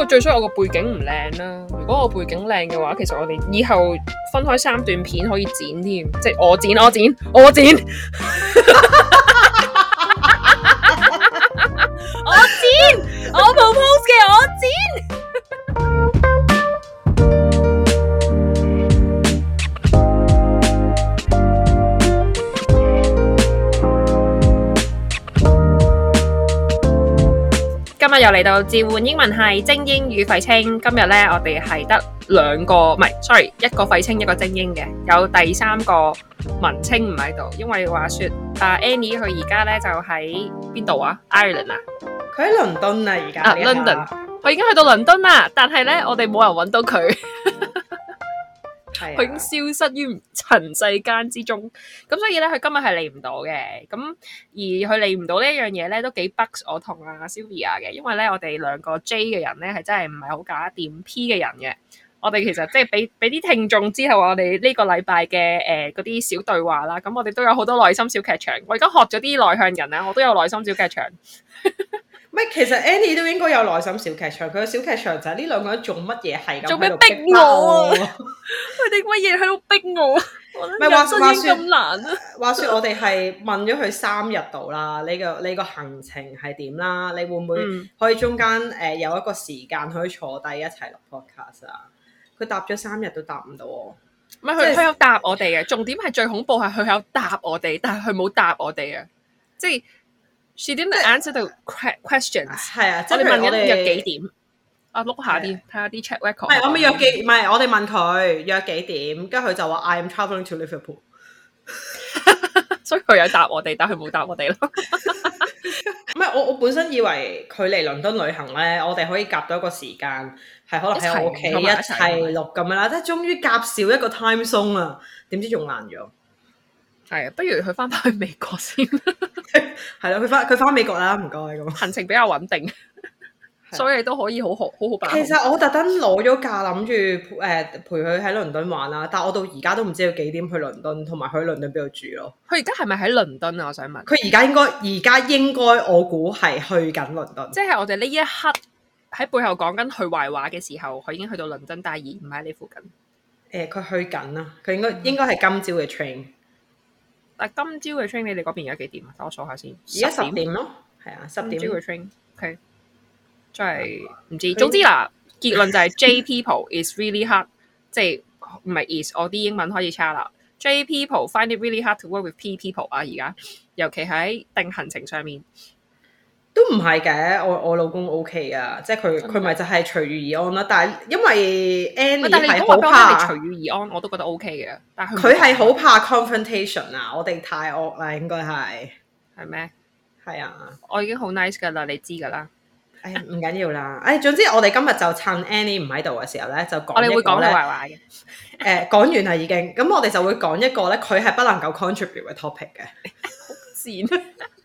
最衰我個背景唔靚啦。如果我背景靚嘅話，其實我哋以後分開3段片可以剪添，即係我剪。我 propose 嘅我剪。今日又嚟到召喚英文系精英與廢青。今日咧，我哋係得一個廢青一個精英嘅，有第3個文青唔喺度，因為話說Annie 佢而家咧就喺邊度啊 ？Ireland 啊？ 佢喺倫敦啊，而家。 London， 佢已經去到倫敦啦，但係咧我哋冇人揾到佢。佢已經消失於塵世間之中，咁所以咧佢今日係嚟唔到嘅，咁而佢嚟唔到呢一樣嘢咧都幾 bugs 我同Sylvia 嘅，因為咧我哋2個 J 嘅人咧係真係唔係好搞得掂 P 嘅人嘅，我哋其實即係俾啲聽眾之後我哋呢個禮拜嘅嗰啲小對話啦，咁我哋都有好多內心小劇場，我而家學咗啲內向人啊，我都有內心小劇場。 其實 Annie 都應該有內心小劇場，佢嘅小劇場就係呢2個人做乜嘢係咁， 做咩逼我啊？佢哋乜嘢喺度逼我？人生已經咁難啊！ 話說我哋係問咗佢3日度啦，你個行程係點啦？你會唔會可以中間有一個時間可以坐低一齊錄 podcast 啊？佢答咗3日都答唔到我。 唔係佢有答我哋嘅，重點係最恐怖係佢有答我哋，但係佢冇答我哋啊！即係 she didn't answer the questions。係啊，即係問緊約幾點？碌下啲，睇下啲 chat record。 我咪約幾？唔係我哋問佢約幾點，跟住佢就話 I am travelling to Liverpool。 所以佢有答我哋，但係佢冇答我哋咯。 唔係我本身以為佢嚟倫敦旅行咧，我哋可以夾到一個時間，係可能喺我屋企一齊錄咁樣啦。即係終於夾少一個 time zone 啦，點知仲難咗。 係啊，不如佢翻去美國先。 係咯，佢翻美國啦，唔該咁。 行程比較穩定。所以都可以好好把控。 其實我特登攞咗假，諗住陪佢喺倫敦玩啦，但我到而家都唔知佢幾點去倫敦，同埋去倫敦邊度住咯。 佢而家係咪喺倫敦啊？我想問。 佢而家應該我估係去緊倫敦。即係我哋呢一刻喺背後講緊佢壞話嘅時候，佢已經去到倫敦，但係而唔喺你附近。 佢去緊啦，佢應該係今朝嘅 train。 但今朝嘅 train 你哋嗰邊而家幾點啊？等我數下先。 而家10點咯，係啊，10點。 今朝嘅 train，OK。真係唔知，總之嗱，結論就係 J people is really hard， 即係唔係 is， 我啲英文開始差啦。J people find it really hard to work with P people 啊，而家尤其喺定行程上面都唔係嘅，我老公 OK 啊，即係佢咪就係隨遇而安啦。但係因為 Annie 係好怕隨遇而安，我都覺得 OK 嘅。但係佢係好怕 confrontation 啊，我哋太惡啦，應該係咩？ 係啊， 我已經好 nice 噶啦，你知噶啦。 唔緊要啦，總之我哋今日就趁 Annie 唔喺度嘅時候咧，就講我哋會講佢壞話嘅。講完啦已經，咁我哋就會講一個咧，佢係不能夠 contribute 嘅 topic 嘅。 好賤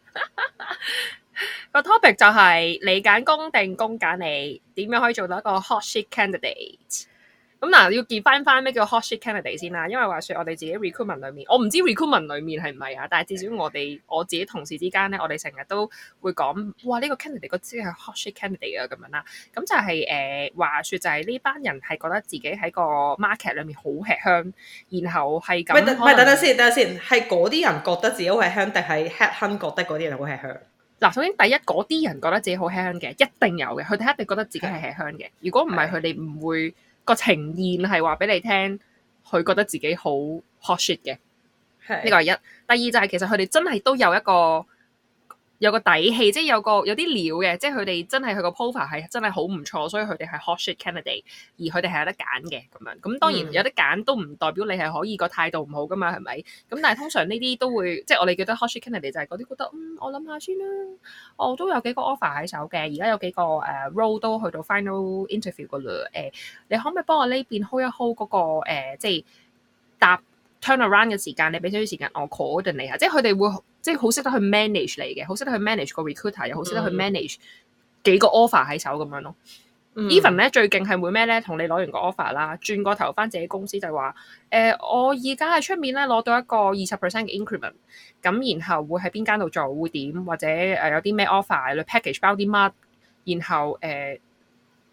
個 topic 就係你揀工定工揀你，點樣可以做到一個 hot shit candidate？咁嗱，要見翻咩叫 hot shit candidate 先啦，因為話說我哋自己 recruitment 裏面，我唔知 recruitment 裏面係唔係啊，但係至少我自己同事之間咧，我哋成日都會講，哇呢個 candidate 個知係 hot shit candidate 啊咁樣啦。咁就係話說就係呢班人係覺得自己喺個 market 裏面好吃香，然後係咁。 唔係等等先，係嗰啲人覺得自己好吃香，定係 head hunt 覺得嗰啲人好吃香？ 嗱，首先第一嗰啲人覺得自己好吃香嘅，一定有嘅，佢哋一定覺得自己係吃香嘅。如果唔係，佢哋唔會。個呈現係話俾你聽，佢覺得自己好 hot shit 嘅，呢個係一。第二就係其實佢哋真係都有個底氣，即係有啲料嘅，即係佢哋真係佢個 profile 係真係好唔錯，所以佢哋係 hot shit candidate，而佢哋係有得揀嘅咁樣。咁當然有得揀都唔代表你係可以個態度唔好噶嘛，係咪？咁但係通常呢啲都會，即係我哋覺得 hot shit candidate 就係嗰啲覺得我諗下先啦，我都有幾個 offer 喺手嘅，而家有幾個role 都去到 final interview 噶啦。你可唔可以幫我呢邊 hold 一 hold 嗰個即係答 turnaround 嘅時間？你俾少少時間我 coordinate 下，即係佢哋會。即係好識得去 manage 你嘅，好識得去 manage 個 recruiter，又好識得去 manage 幾個 offer 喺手咁樣咯。Even 咧最勁係會咩咧？同你攞完個 offer 啦，轉個頭翻自己公司就話我而家喺出面咧攞到一個20% 嘅 increment，咁然後會喺邊間度做會點，或者有啲咩 offer，package 包啲乜，然後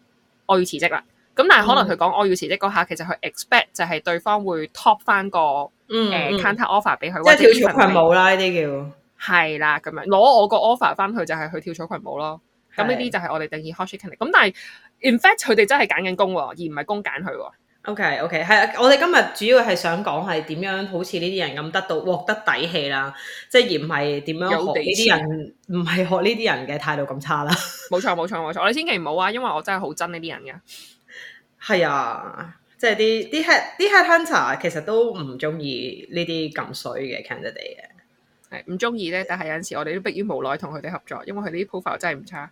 我要辭職啦。咁但係可能佢講我要辭職嗰下，其實佢 expect 就係對方會 top 翻個counter offer 俾佢， 即係跳草裙舞啦，呢啲叫係啦咁樣攞我個 offer 翻去就係去跳草裙舞咯。咁呢啲就係我哋定義 hot shit candidate。咁但係 in fact 佢哋真係揀緊工喎，而唔係工揀佢喎。 OK，係啊，我哋今日主要係想講係點樣好似呢啲人咁獲得底氣啦，即係而唔係點樣學呢啲人，唔係學呢啲人嘅態度咁差啦。 冇錯，我哋千祈唔好啊，因為我真係好憎呢啲人嘅。 係啊，即係啲 head hunter 其實都唔中意呢啲咁衰嘅 candidate 嘅。 係唔中意咧，但係有陣時我哋都迫於無奈同佢哋合作，因為佢哋啲 profile 真係唔差。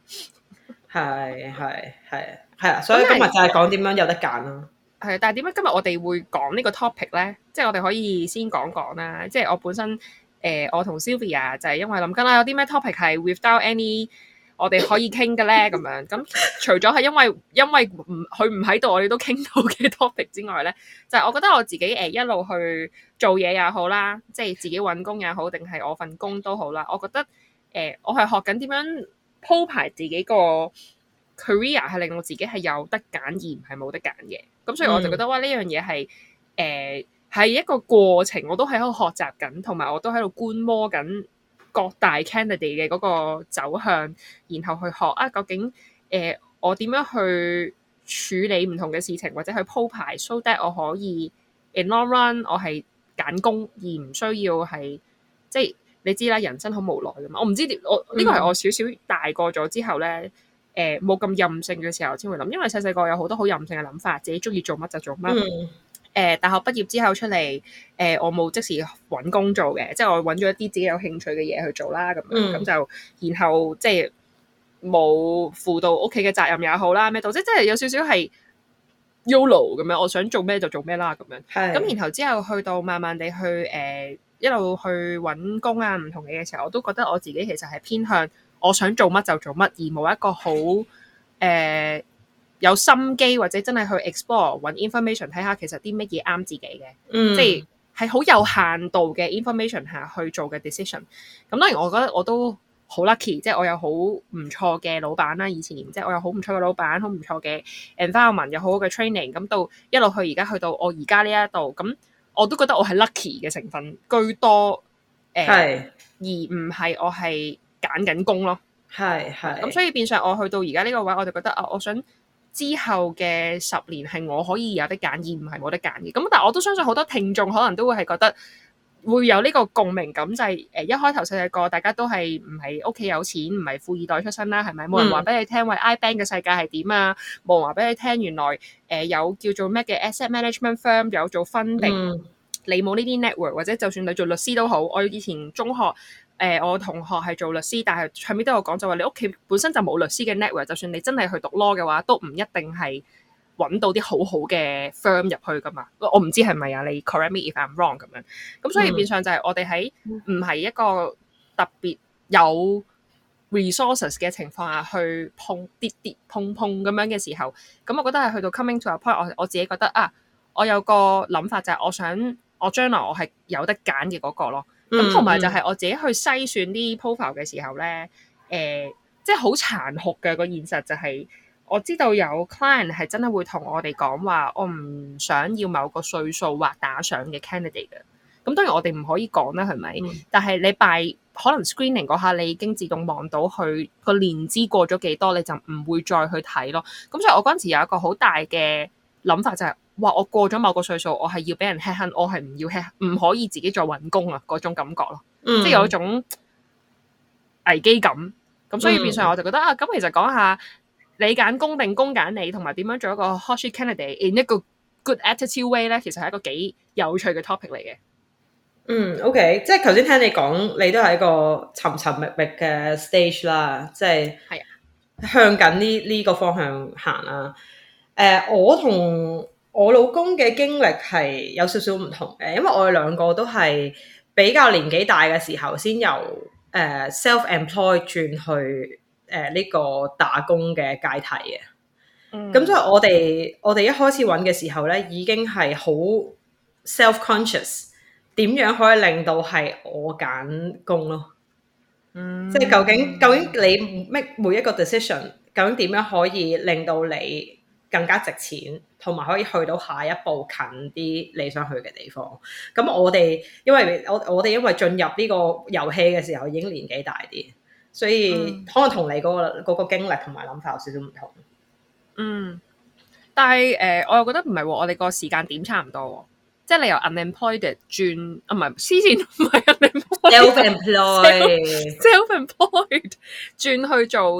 係啊，所以今日就係講點樣有得揀咯。 係，但係點解今日我哋會講呢個 topic 咧？即係我哋可以先講啦。即係我本身我同 Sylvia 就係因為諗緊啦，有啲咩 topic 係 without any 我哋可以傾嘅咧咁樣。咁除咗係因為佢唔喺度，我哋都傾到嘅 topic 之外咧，就係我覺得我自己一路去做嘢也好啦，即係自己揾工也好，定係我份工都好啦。我覺得我係學緊點樣鋪排自己個 career 係令我自己係有得揀而唔係冇得揀嘅。咁所以我就覺得哇，呢樣嘢係一個過程，我都喺度學習緊，同埋我都喺度觀摩緊各大 candidate 嘅嗰個走向，然後去學啊究竟我點樣去處理唔同嘅事情，或者去鋪排 so that 我可以 in long run 我係揀工而唔需要係即係你知啦，人生好無奈㗎嘛。我唔知我呢個係我少少大個咗之後咧。冇咁任性嘅時候先會諗，因為細個有好多好任性嘅諗法，自己中意做乜就做乜。大學畢業之後出嚟，我冇即時揾工做嘅，即係我揾咗一啲自己有興趣嘅嘢去做啦，咁樣咁就然後即係冇負到屋企嘅責任也好啦，咩到即係有少少係 YOLO 咁樣，我想做咩就做咩啦咁樣。咁然後之後去到慢慢地去一路去揾工啊，唔同嘅嘢時候，我都覺得我自己其實係偏向。我想做乜就做乜，而冇一個好有心機或者真係去 explore 揾 information 睇下其實啲乜嘢啱自己嘅，即係好有限度嘅 information 下去做嘅 decision。咁當然我覺得我都好 lucky，即係我有好唔錯嘅老闆啦，以前即係我有好唔錯嘅老闆，好唔錯嘅 environment，有好好嘅 training， 咁到一路去而家去到我而家呢一度，咁我都覺得我係 lucky 嘅成分居多，而唔係我係揀緊工咯， 係咁所以變相我去到而家呢個位，我就覺得啊，我想之後嘅10年係我可以有得揀，而唔係冇得揀嘅。咁但係我都相信好多聽眾可能都會係覺得會有呢個共鳴感，就係一開頭細個大家都係唔係屋企有錢，唔係富二代出身啦，係咪？冇人話俾你聽，喂 iBank 嘅世界係點啊？冇人話俾你聽，原來有叫做咩嘅 asset management firm 有做 funding，你冇呢啲 network， 或者就算你做律師都好，我以前中學。我同學係做律師，但係後面都有講就話你屋企本身就冇律師嘅 network， 就算你真係去讀 law 嘅話，都唔一定係揾到啲好好嘅 firm 入去噶嘛。我唔知係咪啊？你 correct me if I'm wrong 咁樣。咁所以變相就係我哋喺唔係一個特別有 resources 嘅情況下去跌碰咁樣嘅時候，咁我覺得係去到 coming to a point， 我自己覺得啊，我有個諗法就係我想我將來我係有得揀嘅嗰個咯。咁同埋就係我自己去篩選啲 profile 嘅時候咧，即係好殘酷嘅個現實就係，我知道有 client 係真係會同我哋講話，我唔想要某個歲數或打上嘅 candidate 嘅。咁當然我哋唔可以講啦，係咪？但係你可能 screening 嗰下，你已經自動望到佢個年資過咗幾多，你就唔會再去睇咯。咁所以我嗰陣時有一個好大嘅諗法就係。哇！我過咗某個歲數，我係要俾人 head hunt， 我係唔要 head， 唔可以自己再揾工啊！嗰種感覺咯，即係有一種危機感。咁所以變相我就覺得啊，咁其實講下你揀工定工揀你，同埋點樣做一個 hot shit candidate in 一個 good attitude way 咧，其實係一個幾有趣嘅 topic 嚟嘅。 OK， 即係頭先聽你講，你都係一個尋尋覓覓嘅 stage 啦，即係向緊呢個方向行啦。我同我老公嘅經歷係有少少唔同嘅，因為我哋兩個都係比較年紀大嘅時候先由self-employed 轉去呢個打工嘅階梯嘅。咁所以我哋一開始揾嘅時候咧，已經係好 self-conscious， 點樣可以令到係我揀工咯？即係究竟你 make 每一個 decision， 究竟點樣可以令到你更加值錢，同埋可以去到下一步近啲你想去嘅地方。咁我哋因為進入呢個遊戲嘅時候已經年紀大啲，所以可能同你嗰個經歷同埋諗法有少少唔同。 但係我又覺得唔係喎，我哋個時間點差唔多喎。即係你由 unemployed 轉唔係黐線，唔係 unemployed，self-employed 轉去做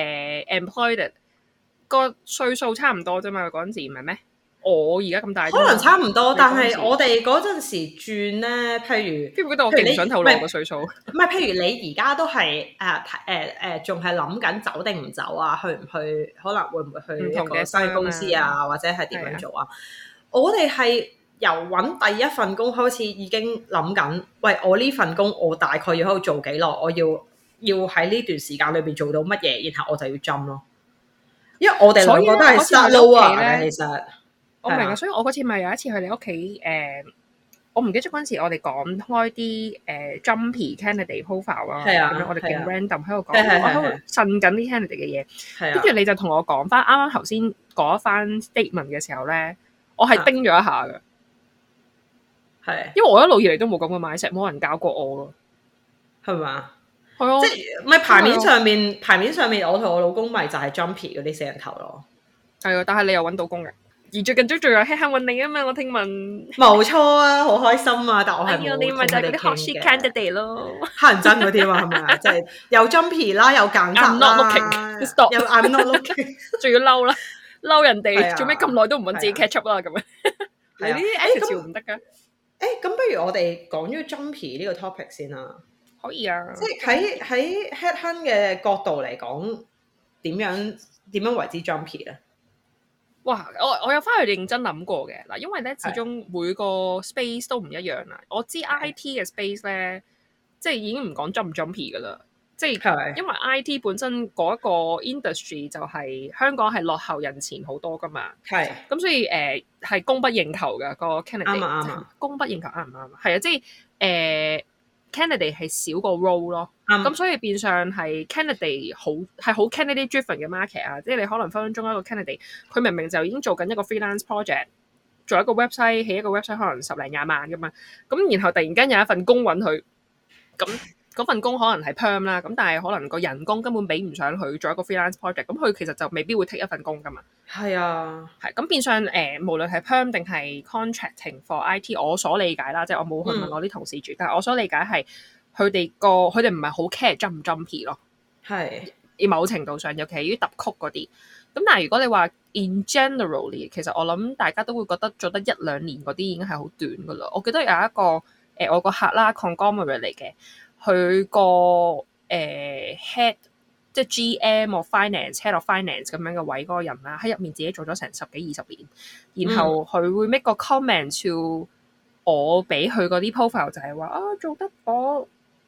employed 個歲數差唔多啫嘛。嗰陣時唔係咩？我而家咁大， 可能差唔多，但係我哋嗰陣時轉咧，譬如我勁唔想透露個歲數。 唔係，譬如你而家都係仲係諗緊走定唔走啊？去唔去？可能會唔會去一個新公司啊？或者係點樣做啊？我哋係由揾第一份工開始已經諗緊，喂，我呢份工我大概要喺度做幾耐？我要喺呢段時間裏邊做到乜嘢，然後我就要針咯。因為我哋兩個都係 start lower 嘅，其實我明啊。所以我嗰次咪有一次去你屋企我唔記得咗嗰陣時我哋講開啲jumpy candidate profile 啊，咁樣我哋勁 random 喺度講，我喺度呻緊啲 candidate 嘅嘢，跟住你就同我講翻啱啱頭先嗰一番 statement 嘅時候咧，我係叮咗一下嘅。因為我一路以嚟都冇咁嘅mindset，冇人教過我咯， 係嘛？ 係啊， 即係咪牌面上面，我同我老公咪就係 jumpy 嗰啲死人頭咯。 係啊，但係你又揾到工嘅，而最近都仲有輕輕揾你啊嘛，我聽聞。 冇錯啊，好開心啊！但我係冇你咪就係嗰啲 hot shit candidate 咯， 乞人憎嗰啲嘛，係咪啊？即係又 jumpy 啦，又揀擇啦，又 I'm not looking， 仲要嬲啦，嬲人哋做咩咁耐都唔揾自己 catch up 啦咁樣。你呢啲 attitude 唔得㗎。 咁不如我哋講咗 jumpy 呢個 topic 先啦。 可以啊。 即係喺 headhunt 嘅角度嚟講，點樣為之 jumpy 咧？ 哇！我有翻去認真諗過嘅嗱，因為咧始終每個 space 都唔一樣啦。我知 IT 嘅 space 咧，即係已經唔講 jump 唔 jumpy 噶啦。即係因為 IT 本身嗰一個 industry 就係香港係落後人前好多噶嘛。咁所以係供不應求嘅個 candidate。啱供不應求啱唔啱？係啊，即係candidate 係少個 role 咯。咁所以變相係 candidate 係好 candidate driven 嘅 market 啊。即係你可能分分鐘一個 candidate，佢明明就已經做緊一個 freelance project， 做一個 website， 起一個 website 可能10零20萬噶嘛。咁然後突然間有一份工揾佢，咁嗰份工可能係 perm 啦，咁但係可能個人工根本比唔上佢做一個 freelance project， 咁佢其實就未必會 take 一份工噶嘛。 係啊， 係咁變相無論係 perm 定係 contracting for IT， 我所理解啦，即係我冇去問我啲同事住，但係我所理解係佢哋唔係好 care jump 唔 jumpy 咯。 係某程度上，尤其係於揼曲嗰啲。咁但係如果你話 in generally， 其實我諗大家都會覺得做得1-2年嗰啲已經係好短噶啦。我記得有一個我個客啦 conglomerate 嚟嘅。佢個head 即係 GM of finance、head of finance 咁樣嘅位嗰個人啦，喺入面自己做咗成10幾20年，然後佢會 make 個 comment to 我俾佢嗰啲 profile 就係話做得嗰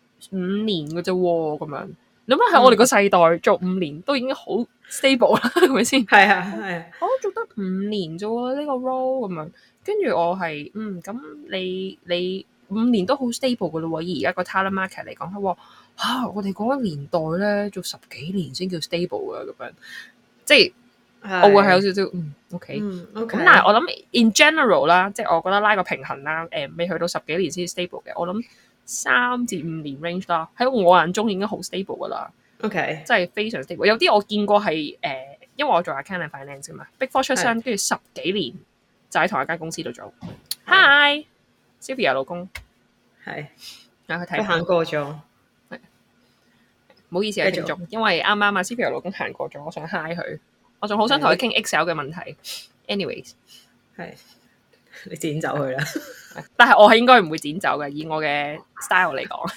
5年嘅啫喎，咁樣你諗下喺我哋個世代做5年都已經好 stable 啦，係咪先？ 係啊， 做得5年啫喎呢個 role 咁樣，跟住我係咁你5年都好 stable 嘅咯喎，以而家個 talent market 嚟講，佢話我哋嗰個年代咧做10幾年先叫 stable 嘅咁樣，即係我會係有少少OK。咁但係我諗 in general 啦，即係我覺得拉個平衡啦，未去到10幾年先 stable 嘅，我諗3至5年 range 啦，喺我眼中已經好 stable 噶啦。 OK， 真係非常 stable。有啲我見過係因為我做 accounting finance 嘅嘛，Big Four 出身，跟住10幾年就喺同一間公司度做。Hi Sylvia 老公係佢睇行過咗， 唔好意思啊，聽眾，因為啱啱Sylvia 老公行過咗，我想 hi 佢，我仲好想同佢傾 Excel 嘅問題。anyways， 係你剪走佢啦， 但係我係應該唔會剪走嘅，以我嘅 style 嚟講，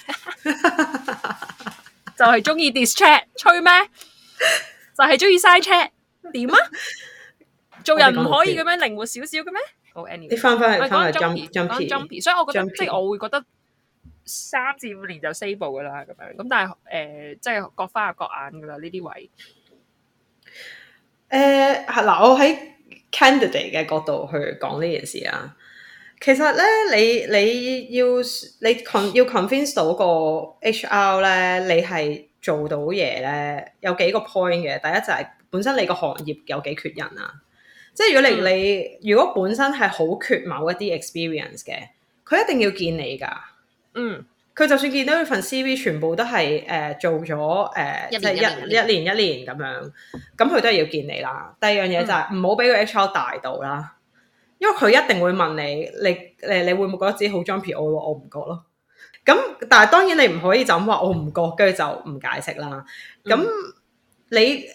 就係中意 dis chat 吹咩？就係中意嘥 chat 點啊？做人唔可以咁樣靈活少少嘅咩？ 你翻去 jumpy， 所以我覺得即係我會覺得3至5年就 stable 噶啦咁樣。咁但係即係各花入各眼噶啦呢啲位。 嗱，我喺 candidate 嘅角度去講呢件事啊。其實咧，你要 convince 到個 HR 咧，你係做到嘢咧，有幾個 point 嘅。第一就係本身你個行業有幾缺人啊。 即係如果你如果本身係好缺某一啲 experience 嘅，佢一定要見你㗎。佢就算見到佢份 CV 全部都係做咗即係一年咁樣，咁佢都係要見你啦。第二樣嘢就係唔好俾個 HR 大到啦，因為佢一定會問你會唔會覺得自己好 jumpy？我唔覺咯。咁但係當然你唔可以就咁話我唔覺，跟住就唔解釋啦。咁你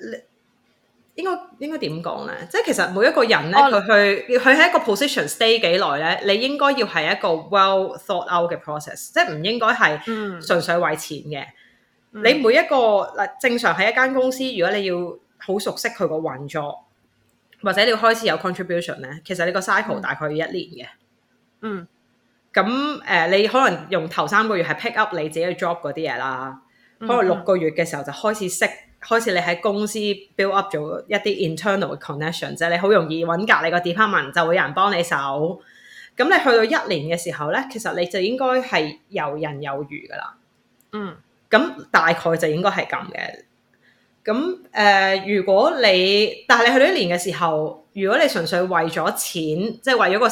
應該點講咧？即係其實每一個人咧，佢喺一個 position stay 幾耐咧，你應該要係一個 well thought out 嘅 process， 即係唔應該係純粹為錢嘅。你每一個嗱正常喺一間公司，如果你要好熟悉佢個運作，或者你要開始有 contribution 咧，其實你個 cycle 大概要一年嘅。咁你可能用頭3個月係 pick up 你自己嘅 job 嗰啲嘢啦，可能6個月嘅時候就開始你喺公司 build up 咗一啲 internal 嘅 connection， 即係你好容易揾隔你個 department 就會有人幫你手。咁你去到1年嘅時候咧，其實你就應該係游刃有餘噶啦。咁大概就應該係咁嘅。咁如果但係你去到1年嘅時候，如果你純粹為咗錢，即係為咗個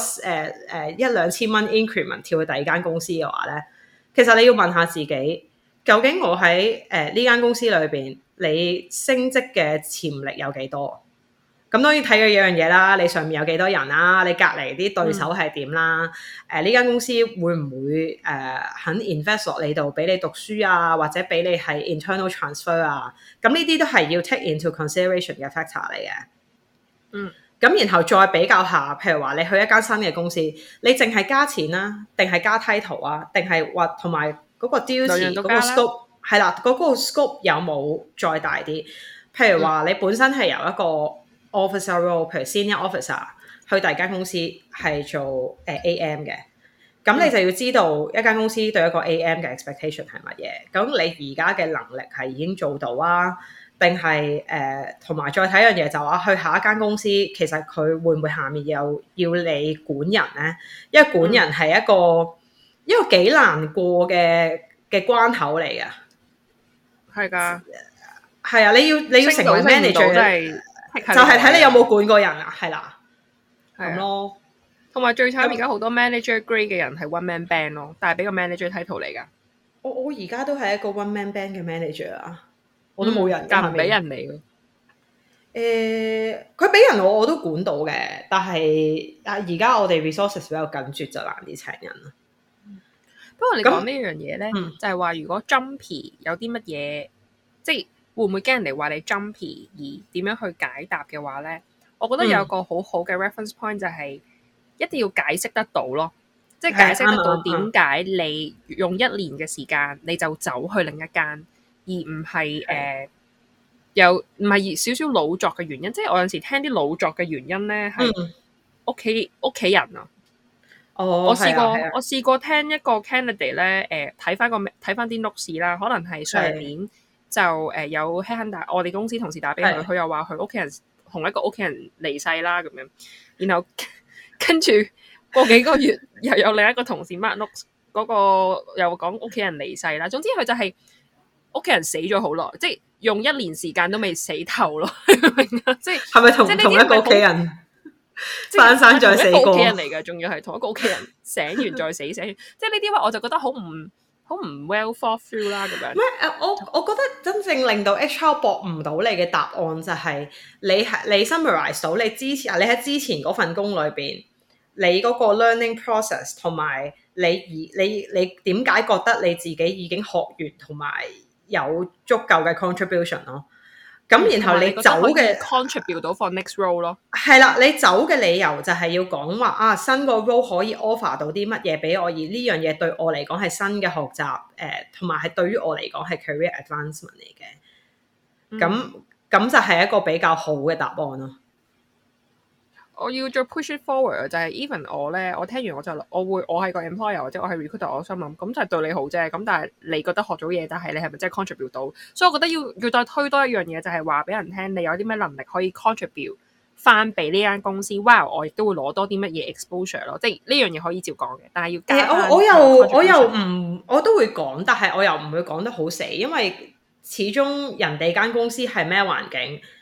1-2千蚊 increment 跳去第二間公司嘅話咧，其實你要問下自己，究竟我喺呢間公司裏邊，你升職嘅潛力有幾多？咁當然睇嘅有樣嘢啦，你上面有幾多人啦，你隔離啲對手係點啦？呢間公司會唔會肯 invest 落你度俾你讀書啊，或者俾你係 internal transfer 啊？咁呢啲都係要 take into consideration 嘅 factor 嚟嘅。咁然後再比較下，譬如話你去一間新嘅公司，你淨係加錢啦，定係加 title 啊，定係話同埋嗰個 duty 嗰個 scope 係啦，嗰個 scope 有冇再大啲？譬如話你本身係由一個 officer role， 譬如 senior officer 去第二間公司係做AM 嘅，咁你就要知道一間公司對一個 AM 嘅 expectation 係乜嘢。咁你而家嘅能力係已經做到啊？定係同埋再睇樣嘢就話去下一間公司，其實佢會唔會下面又要你管人咧？因為管人係一個幾難過嘅關口嚟嘅。係㗎，係啊！你要成為 manager， 就係睇你有冇管過人啊，係啦，咁咯。 同埋最慘而家好多 manager grade 嘅人係 one man band 咯，但係俾個 manager title 嚟㗎。 我而家都係一個 one man band 嘅 manager 啊。我都冇人， 但唔俾人嚟嘅。佢俾人我都管到嘅，但係而家我哋 resources 比較緊絀，就難啲請人啦。 不過你講呢樣嘢咧，就係話如果 jumpy 有啲乜嘢，即係會唔會驚人哋話你 jumpy 而點樣去解答嘅話咧？我覺得有個好好嘅 reference point 就係一定要解釋得到咯，即係解釋得到點解你用1年嘅時間你就走去另一間。而唔係又唔係少少老作嘅原因，即係我有陣時聽啲老作嘅原因咧，係屋企人啊。我試過聽一個 candidate 咧，睇翻啲 notes 啦，可能係上年就有 headhunter 我哋公司同事打俾佢，佢又話佢屋企人同一個屋企人離世啦咁樣，然後跟住過幾個月又有另一個同事 mark notes 嗰個又講屋企人離世啦，總之佢就係。屋企人死咗好耐，即係用1年時間都未死透咯，明啊？即係係咪同一個屋企人生再死過？ 同一個屋企人嚟㗎，仲要係同一個屋企人醒完再死，醒完，即係呢啲話我就覺得好唔 well thought through 啦咁樣。 我覺得真正令到 HR 駁唔到你嘅答案就係你 summarize 到你喺之前嗰份工裏邊，你嗰個 learning process 同埋你點解覺得你自己已經學完同埋有足夠嘅 contribution 咯，咁然後你走嘅 contribute 到 for next role 咯， 係啦，你走嘅理由就係要講話新個 role 可以 offer 到啲乜嘢俾我，而呢樣嘢對我嚟講係新嘅學習，同埋係對於我嚟講係 career advancement 嚟嘅，咁就係一個比較好嘅答案咯。 我要再 push it forward 就係 even 我咧，我聽完我係個 employer 或者我係 recruiter， 我心諗咁就係對你好啫。咁但係你覺得學咗嘢，但係你係咪真係 contribute 到？所以我覺得要再推多一樣嘢，就係話俾人聽，你有啲咩能力可以 contribute 翻俾呢間公司。Wow， 我亦都會攞多啲乜嘢 exposure 咯。即係呢樣嘢可以照講嘅，但係要加我都會講，但係我又唔會講得好死，因為始終人哋間公司係咩環境。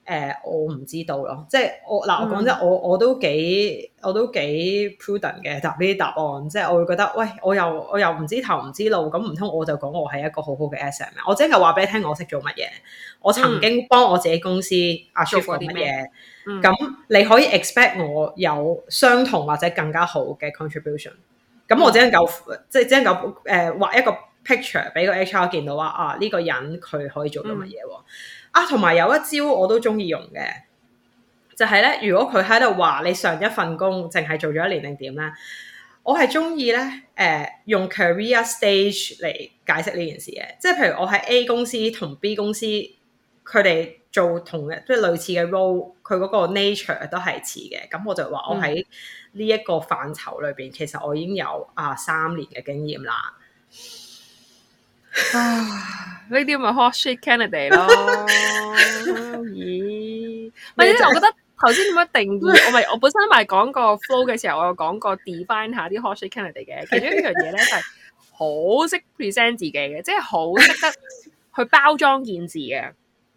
我唔知道咯，即係我講真，我都幾 prudent 嘅答呢啲答案，即係我會覺得，喂，我又唔知頭唔知路，咁唔通我就講我係一個好好嘅 SM 咩？我即係話俾你聽，我識做乜嘢，我曾經幫我自己公司 achieve 過乜嘢，咁你可以 expect 我有相同或者更加好嘅 contribution，咁我只能夠畫一個 picture 俾個 HR 見到話啊呢個人佢可以做到乜嘢喎。同埋有一招我都中意用嘅，就係咧，如果佢喺度話你上一份工淨係做咗1年定點咧，我係中意咧用 career stage 嚟解釋呢件事嘅，即係譬如我喺 A 公司同 B 公司，佢哋做同嘅即係類似嘅 role， 佢嗰個 nature 都係似嘅，咁我就話我喺呢一個範疇裏邊，其實我已經有3年嘅經驗啦。 呢啲咪 hot shit candidate 咯，咦？唔係，我覺得頭先點樣定義？我本身咪講過 flow 嘅時候，我有講過 define 下啲 hot shit candidate 嘅。其中一樣嘢咧就係好識 present 自己嘅，即係好識得去包裝件事嘅。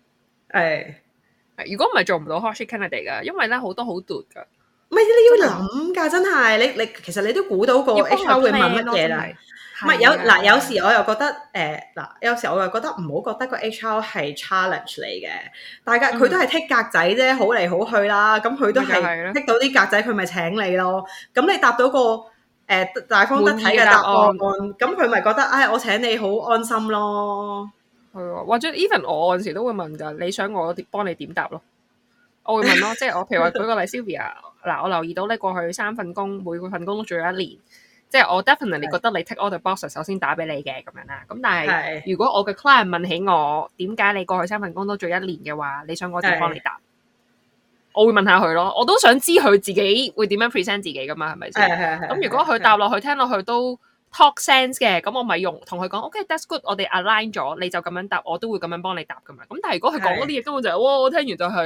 如果唔係做唔到 hot shit candidate 噶，因為咧好多好 dude 噶。 唔係你要諗㗎，真係你其實你都估到個 HR 會問乜嘢啦。唔係有時我又覺得有時我又覺得唔好覺得個 HR 係 challenge 你嘅，大家佢都係剔格仔啫，好嚟好去啦。咁佢都係剔到啲格仔，佢咪請你咯。咁你答到個大方得體嘅答案，咁佢咪覺得我請你好安心咯。 係啊，或者 even 我有陣時都會問㗎，你想我幫你點答咯？我會問咯，即係我譬如話舉個例 Sylvia， 我留意到你過去3份工，每個份工都做咗1年。即係我 definitely 覺得你 tick all the boxes，首先打俾你嘅咁樣啦。咁但係如果我嘅 client 問起我點解你過去3份工都做1年嘅話，你想我點幫你答？我會問下佢咯。我都想知佢自己會點樣 present 自己噶嘛，係咪先？咁如果佢答落去聽落去都 talk sense 嘅，咁我咪同佢講 OK，that's good， 我哋 align 咗，你就咁樣答，我都會咁樣幫你答噶嘛。咁但係如果佢講嗰啲嘢根本就係我聽完就係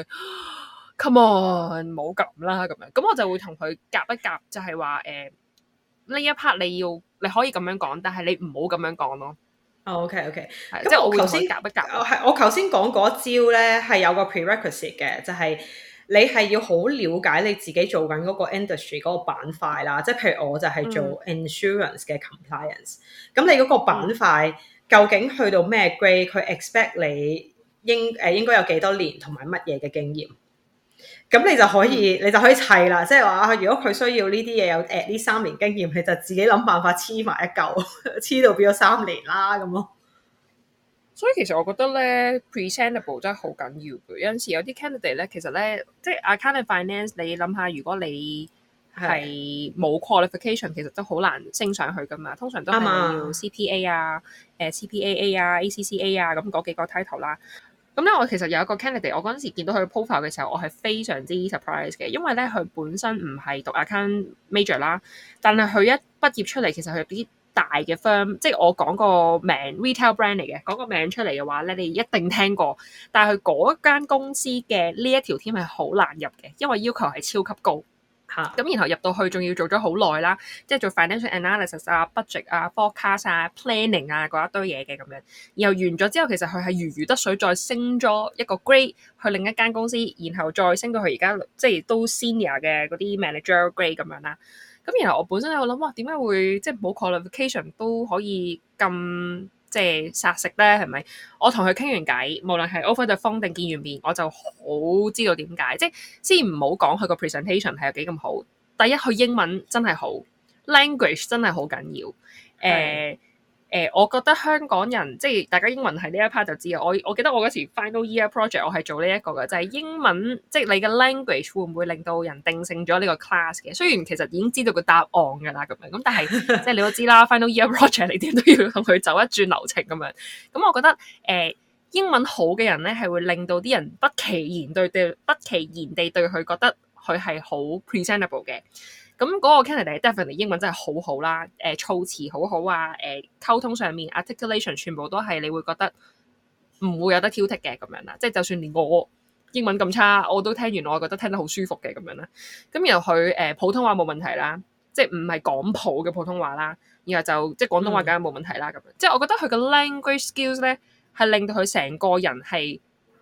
come on， 冇咁啦咁樣。咁我就會同佢夾一夾，就係話呢一 part 你可以咁樣講，但係你唔好咁樣講咯。 OK， 即係我會同佢夾一夾。 我頭先講嗰招咧係有個 prerequisite 嘅，就係你係要好了解你自己做緊嗰個 industry 嗰個板塊啦。即係譬如我就係做 insurance 嘅 compliance，咁你嗰個板塊究竟去到咩 grade，佢 expect 你應該有幾多年同埋乜嘢嘅經驗？咁你就可以砌啦，即係話如果佢需要呢啲嘢有呢3年經驗，你就自己諗辦法黐埋一嚿，黐到變咗3年啦咁咯。 所以其實我覺得咧 presentable 真係好緊要嘅。有陣時有啲 candidate 咧，其實咧即係 accounting finance， 你諗下，如果你係冇 qualification， 其實都好難升上去噶嘛。通常都係你要 CPA 啊、CPAA 啊、ACCA 啊咁嗰幾個 title 啦。咁咧，我其實有一個 candidate， 我嗰陣時見到佢 profile 嘅時候，我係非常之 surprise 嘅，因為咧佢本身唔係讀 account major 啦，但係佢一畢業出嚟，其實佢有啲大嘅 firm， 即係我講個名 retail brand 嚟嘅，講個名出嚟嘅話咧，你一定聽過。但係佢嗰間公司嘅呢一條 team 係好難入嘅，因為要求係超級高。咁然後入到去仲要做咗好耐啦，即係做 financial analysis 啊、budget 啊、forecast 啊、planning 啊嗰一堆嘢嘅咁樣。然後完咗之後，其實佢係如魚得水，再升咗一個 grade 去另一間公司，然後再升到去而家即係都 senior 嘅嗰啲 manager grade 咁樣啦。咁然後我本身喺度諗，哇，點解會即係冇 qualification 都可以咁即係殺食咧？係咪？我同佢傾完偈，無論係 over the phone 定見完面，我就好知道點解。即係先唔好講佢個 presentation 係有幾咁好。第一，佢英文真係好 ，language 真係好緊要。我覺得香港人即係大家英文係呢一 part 就知啊。我記得我嗰時 final year project 我係做呢一個嘅，就係英文即係你嘅 language 會唔會令到人定性咗呢個 class 嘅？雖然其實已經知道個答案㗎啦，咁樣咁，但係即係你都知啦，final year project 你點都要同佢走一轉流程咁樣。咁我覺得英文好嘅人咧係會令到啲人不其然地對佢覺得佢係好 presentable 嘅。咁嗰個 candidate definitely 英文真係好好啦，措辭好好啊，溝通上面 articulation 全部都係你會覺得唔會有得挑剔嘅咁樣啦。即係就算連我英文咁差，我都聽完我覺得聽得好舒服嘅咁樣啦。咁然後佢普通話冇問題啦，即係唔係港普嘅普通話啦，然後就即係廣東話梗係冇問題啦咁樣。即係我覺得佢嘅 language skills 咧係令到佢成個人係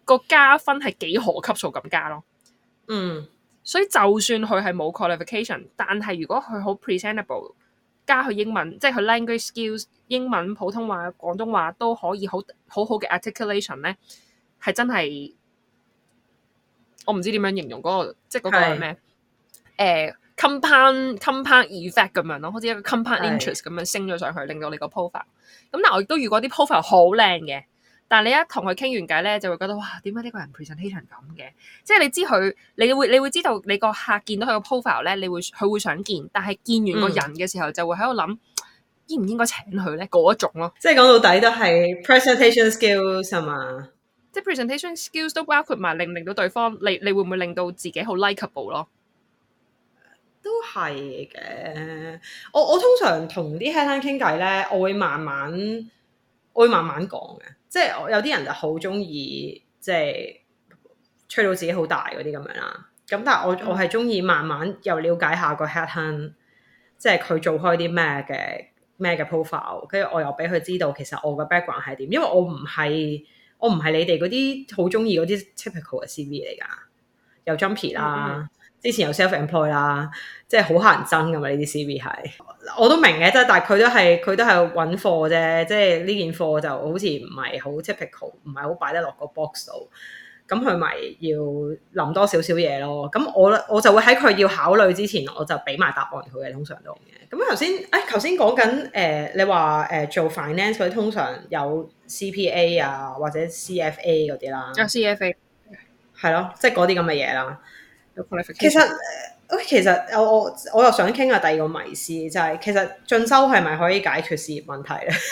個加分係幾何級數咁加咯。 嗯， 所以就算佢係冇 qualification，但係如果佢好 presentable，加佢英文，即係佢 language skills， 英文、普通話、廣東話都可以好嘅 articulation 咧，係真係我唔知點樣形容嗰個，即係嗰個係咩？compound effect 咁樣咯，好似一個 compound interest 咁樣升咗上去，令到你個 profile。咁但係我亦都遇過啲 profile 好靚嘅，但係你一同佢傾完偈咧，就會覺得哇，點解呢個人 presentation 咁嘅？即係你知佢，你會知道你個客見到佢個 profile 咧，佢會想見，但係見完個人嘅時候，就會喺度諗應唔應該請佢咧嗰一種咯。 即係講到底都係 presentation skills 係嘛？ 即係 presentation skills 都包括埋令到對方，你會唔會令到自己好 likeable 咯？ 都係嘅。我通常同啲 headhunter 傾偈咧，我會慢慢講嘅。即係有啲人就好中意即係吹到自己好大嗰啲咁樣啦。咁但係我係中意慢慢又了解下個 headhunter，即係佢做開啲咩嘅 profile， 跟住我又俾佢知道其實我嘅 background 係點，因為我唔係你哋嗰啲好中意嗰啲 typical 嘅 CV 嚟㗎，有 jumpy 啦。之前有 self-employed 啦，即係好乞人憎㗎嘛，呢啲 CV 係，我都明嘅，即係但係佢都係揾貨啫，即係呢件貨就好似唔係好 typical， 唔係好擺得落個 box 度，咁佢咪要諗多少少嘢咯。咁我就會喺佢要考慮之前，我就俾埋答案佢嘅，通常都嘅。咁頭先講緊你話做 finance 佢通常有 CPA 啊或者 CFA 嗰啲啦， 有 CFA 係咯，即係嗰啲咁嘅嘢啦。其實我又想傾下第二個迷思，就係其實進修係咪可以解決事業問題咧？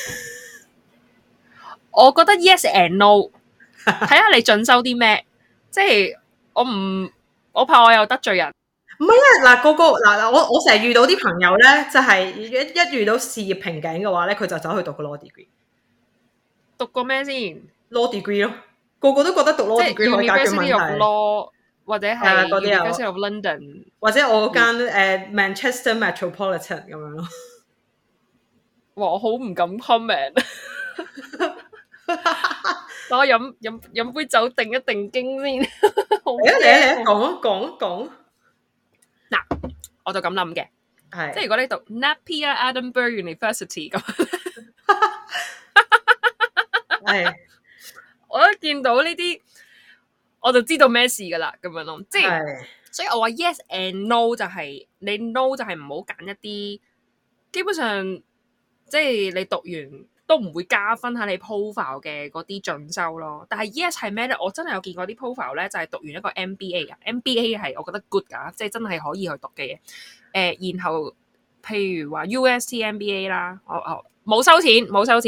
我覺得 yes and no， 睇下你進修啲咩。即係我怕我又得罪人。 唔係啊，我成日遇到啲朋友咧，就係一遇到事業瓶頸嘅話咧，佢就走去讀個 law degree。 讀過咩先 ？law degree 咯，個個都覺得讀 law degree 可以解決問題。 University of Law 或者係 University of London， 或者我間Manchester Metropolitan 咁樣咯。 哇！我好唔敢 comment。等我飲杯酒定一定經先。 你講。 嗱，我就咁諗嘅，即係如果你讀 Napier Edinburgh University 咁， 係我一見到呢啲，我就知道咩事噶啦，咁樣咯。即係，所以我話 yes and no 就係你 no 就係唔好揀一啲，基本上即係你讀完都唔會加分喺你 profile 嘅嗰啲進修咯。但係 yes 係咩咧？我真係有見過啲 profile 咧，就係讀完一個 MBA 噶 ，MBA 係我覺得 good 噶，即係真係可以去讀嘅嘢。然後譬如話 UST MBA 啦，冇收錢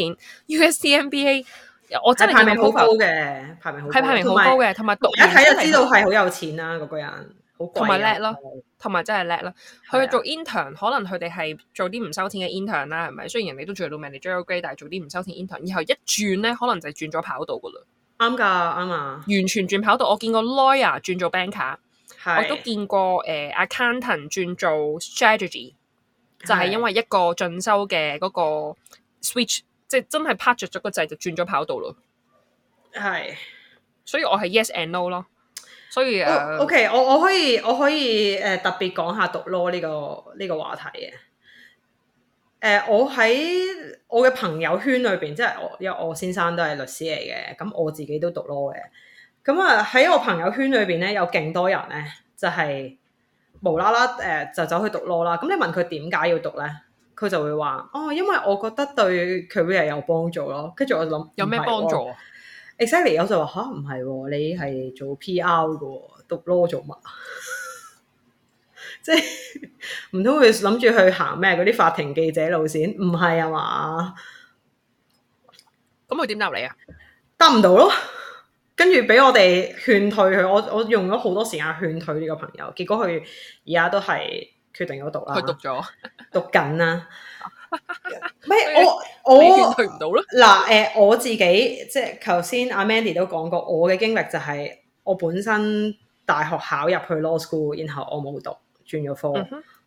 ，UST MBA。我真係排名好高嘅，排名好高嘅， 同埋讀一睇就知道係好有錢啦，嗰個人好貴， 同埋叻咯，同埋真係叻咯。佢做 intern， 可能佢哋係做啲唔收錢嘅 intern 啦，係咪？雖然人哋都做到 manager grade， 但係做啲唔收錢 intern， 然後一轉咧，可能就係轉咗跑道噶啦。啱啊， 完全轉跑道。我見過 lawyer 轉做 banker， 我都見過accountant 轉做 strategy， 就係因為一個進修嘅嗰個 switch。即係真係拍着咗個掣就轉咗跑道咯， 係， 所以我係 yes and no 咯。所以 OK， 我可以特別講下讀 law 呢個話題嘅。我喺我嘅朋友圈裏邊，即係因為我先生都係律師嚟嘅，咁我自己都讀 law 嘅。咁啊喺我朋友圈裏邊咧，有勁多人咧，就係無啦啦就走去讀 law 啦。咁你問佢點解要讀咧？佢就會話因為我覺得對 career 有幫助咯。跟住我諗有咩幫助啊 ？Exactly， 我就話唔係，你係做 PR 嘅，讀 law 做乜？即係唔通佢諗住去行咩嗰啲法庭記者路線？唔係啊嘛？ 咁佢點答你啊？ 答唔到咯。跟住俾我哋勸退佢，我用咗好多時間勸退呢個朋友，結果佢而家都係決定咗讀啦。 佢讀咗， 讀緊啦。咩？我勸退唔到咯。嗱，我自己即係頭先阿 Mandy 都講過，我嘅經歷就係我本身大學考入去 law school，然後我冇讀，轉咗科。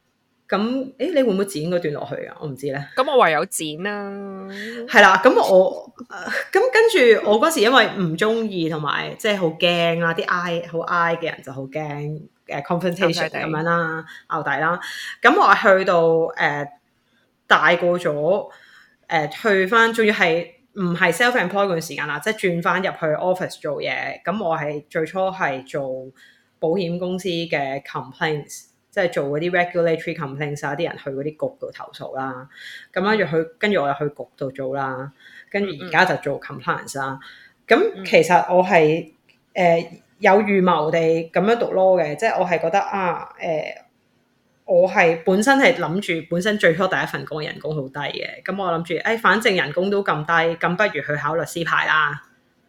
咁你會唔會剪嗰段落去啊？我唔知咧。 咁我唯有剪啦。 係啦，咁咁跟住我嗰時因為唔中意同埋即係好驚啦，啲 好 I 嘅人就好驚confrontation 咁樣啦，拗底啦。咁我係去到大個咗去翻，仲要係唔係 self-employed 嗰段時間啦，即係轉翻入去 office 做嘢。咁我係最初係做保險公司嘅 complaints。即係做嗰啲 regulatory complaints 啊，啲人去嗰啲局度投訴啦，咁跟住我又去局度做啦，跟住而家就做 compliance 啦。咁其實我係有預謀地咁樣讀 law 嘅，即係我係覺得我係本身係諗住本身最初第一份工嘅人工好低嘅，咁我諗住反正人工都咁低，咁不如去考律師牌啦。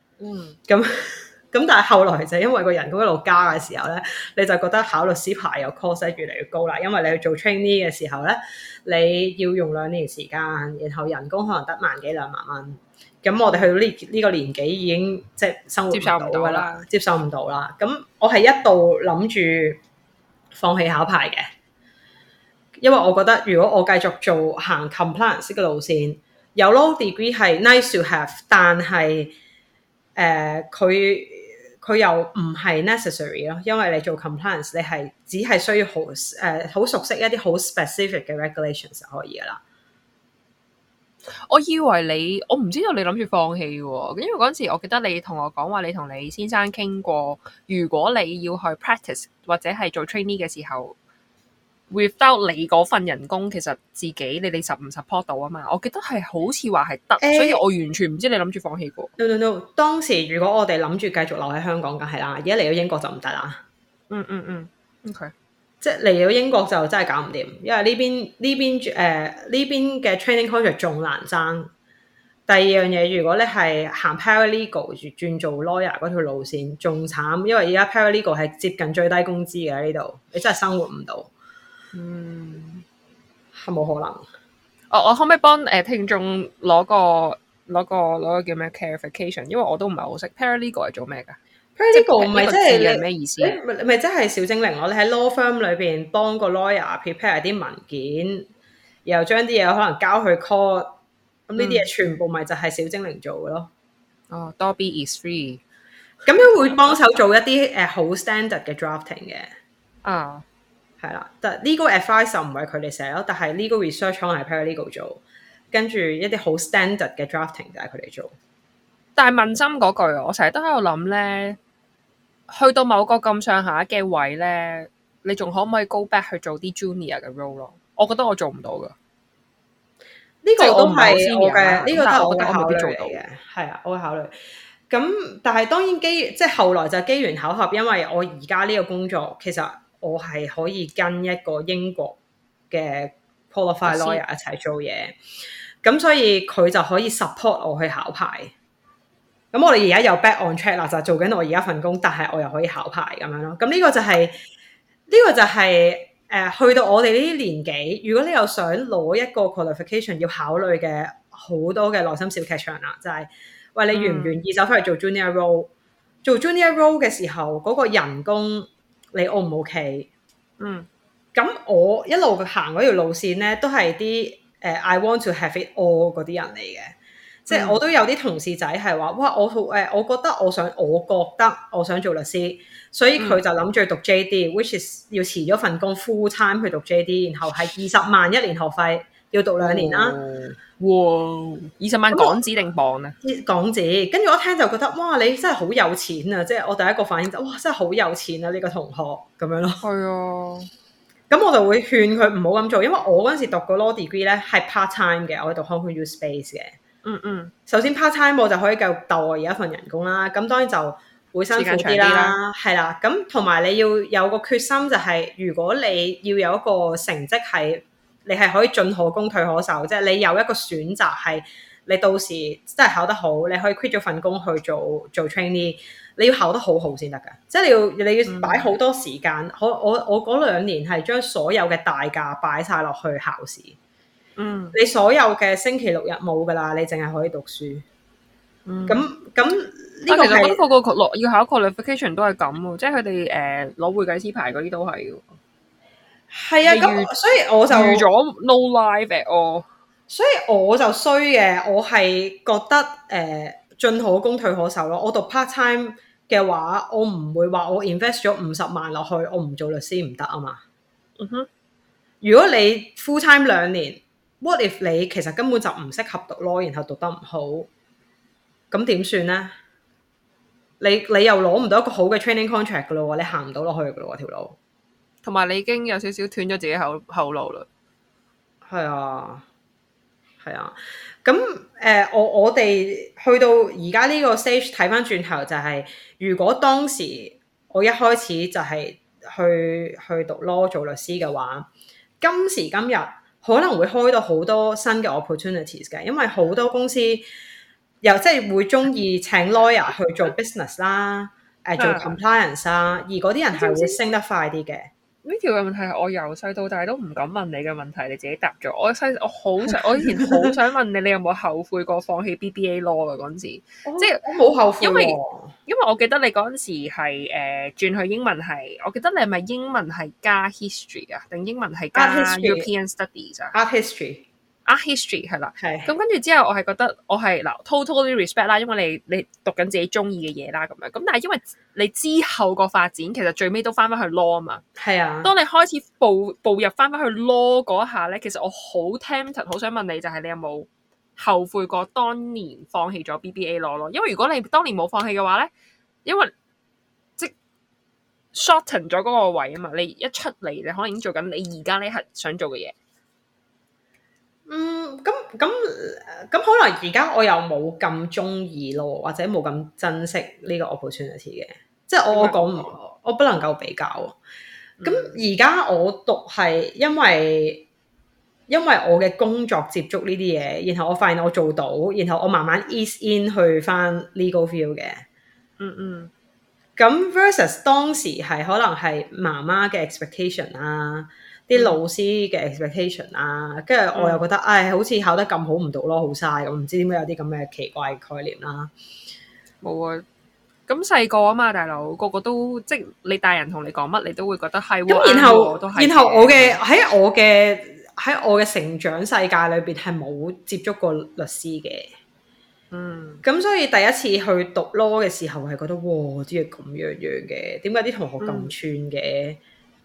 咁但係後來就因為個人工一路加嘅時候咧，你就覺得考律師牌有 cost 越嚟越高啦。因為你去做 trainee 嘅時候咧，你要用2年時間，然後人工可能得1萬幾2萬蚊。咁我哋去到呢個年紀已經即係生活唔到啦，接受唔到啦。咁我係一度諗住放棄考牌嘅，因為我覺得如果我繼續行 compliance 嘅路線，有 law degree 係 nice to have， 但係佢又唔係 necessary 咯，因為你做 compliance 你係只係需要好熟悉一啲好 specific 嘅 regulations 就可以噶啦。 我以為我唔知道你諗住放棄喎，因為嗰陣時我記得你同我講話，你同你先生傾過，如果你要去 practice 或者係做 trainee 嘅時候 without 你嗰份人工，其實自己你哋唔 support 到啊嘛。我記得係好似話係得，所以我完全唔知你諗住放棄過。 No， 當時如果我哋諗住繼續留喺香港，梗係啦。而家嚟到英國就唔得啦。 OK。 即係嚟到英國就真係搞唔掂，因為呢邊嘅 training contract 仲難爭。第二樣嘢，如果你係行 paralegal 轉做 lawyer 嗰條路線，仲慘，因為而家 paralegal 係接近最低工資嘅呢度，你真係生活唔到。係冇可能。 我可唔可以幫聽眾攞個叫咩 clarification？ 因為我都唔係好識 paralegal 係做咩㗎？ Paralegal 唔係即係咩意思？ 咪即係小精靈咯？你喺 law firm 裏邊幫個 lawyer prepare 啲文件，然後將啲嘢可能交去 court， 咁呢啲嘢全部咪就係小精靈做嘅咯。 Dobby is free。 咁樣會幫手做一啲好 standard 嘅 drafting 嘅。係啦，但 legal advice 就唔係佢哋寫咯，但係 legal research 可能係 paralegal 做，跟住一啲好 standard 嘅 drafting 就係佢哋做。但係問心嗰句，我成日都喺度諗咧。去到某個咁上下嘅位咧，你仲可唔可以 go back 去做啲 junior 嘅 role 咯？我覺得我做唔到噶。呢個都係我嘅，呢個都係我嘅考慮嚟嘅。係啊，我會考慮。咁但係當然即係後來就機緣巧合，因為我而家呢個工作其實我係可以跟一個英國嘅 qualified lawyer 一齊做嘢，咁所以佢就可以 support 我去考牌。咁我哋而家有 back on track 啦，就做緊我而家份工，但係我又可以考牌咁樣咯。咁呢個就係去到我哋呢啲年紀，如果你又想攞一個 qualification， 要考慮嘅好多嘅內心小劇場啦，就係喂，你願唔願意走翻去做 junior role？做 junior role 嘅時候，嗰個人工你 O 唔 OK？咁我一路行嗰條路線咧，都係啲I want to have it all 嗰啲人嚟嘅。即係我都有啲同事仔係話，哇！我覺得我想做律師，所以佢就諗住讀 JD，which is 要辭咗份工 full time 去讀 JD， 然後係20萬一年學費，要讀2年啦。 哇！20萬港紙定磅啊？ 港紙。跟住我一聽就覺得，哇！你真係好有錢啊！即係我第一個反應就，哇！真係好有錢啊！呢個同學咁樣咯。係啊。咁我就會勸佢唔好咁做，因為我嗰陣時讀個 law degree 咧係 part time 嘅，我喺讀 Hong Kong U Space 嘅。首先 part time 我就可以繼續鬥我而家份人工啦，咁當然就會辛苦啲啦，係啦，咁同埋你要有個決心，就係如果你要有一個成績係你係可以進可攻退可守，即係你有一個選擇係你到時真係考得好，你可以 quit 咗份工去做 trainee， 你要考得好好先得㗎，即係你要擺好多時間。我嗰2年係將所有嘅大價擺晒落去考試。你所有嘅星期6日冇噶啦，你淨係可以讀書。咁呢個其實我覺得個要考 qualification 都係咁喎，即係佢哋攞會計師牌嗰啲都係嘅。 係啊，咁所以我就預咗 no life at all。 所以我就衰嘅，我係覺得進可攻退可守咯。我讀 part time 嘅話，我唔會話我 invest 咗50萬落去，我唔做律師唔得啊嘛。 嗯哼， 如果你 full time 2年 ，what if 你其實根本就唔適合讀 law，然後讀得唔好，咁點算呢？你又攞唔到一個好嘅 training contract 噶咯喎，你行唔到落去噶咯喎條路。 同埋你已經有少少斷咗自己後路啦。 係啊。係啊，咁我哋去到而家呢個 stage 睇翻轉頭就係、是，如果當時我一開始就係去讀 law 做律師嘅話，今時今日可能會開到好多新嘅 opportunities 嘅，因為好多公司又即係會中意請 lawyer 去做 business 啦，做 compliance 啦，而嗰啲人係會升得快啲嘅。 呢條嘅問題係我由細到大都唔敢問你嘅問題，你自己答咗。我以前好想問你，你有冇後悔過放棄 BBA law 嘅嗰陣時？即係我冇後悔， 因為我記得你嗰陣時係轉去英文系，我記得你係咪英文係加 history 啊？定英文係加 European Studies 啊 ？Art history。Art history 係啦， 係咁跟住之後，我係覺得我係嗱 totally respect 啦，因為你讀緊自己中意嘅嘢啦，咁樣咁，但係因為你之後個發展，其實最尾都翻返去 law 啊嘛。 係啊。 當你開始步入翻返去 law 嗰一下咧，其實我好 tempted， 好想問你，就係你有冇後悔過當年放棄咗 BBA law 咯？因為如果你當年冇放棄嘅話咧，因為即 shorten 咗嗰個位啊嘛，你一出嚟你可能已經做緊你而家呢刻想做嘅嘢。 咁可能而家我又冇咁中意咯，或者冇咁珍惜呢個 opportunity 嘅，即係我講我不能夠比較。咁而家我讀係因為我嘅工作接觸呢啲嘢，然後我發現我做到，然後我慢慢 ease in 去翻 legal field 嘅。咁 versus 當時係可能係媽媽嘅 expectation 啊。啲老師嘅 expectation 啊，跟住我又覺得，好似考得咁好唔讀咯，好嘥咁，唔知點解有啲咁嘅奇怪嘅概念啦。 冇啊，咁細個啊嘛，大佬個個都即係你大人同你講乜，你都會覺得係喎。 咁然後我嘅喺我嘅成長世界裏邊係冇接觸過律師嘅。咁所以第一次去讀 law 嘅時候係覺得，哇，啲嘢咁樣嘅，點解啲同學咁串嘅？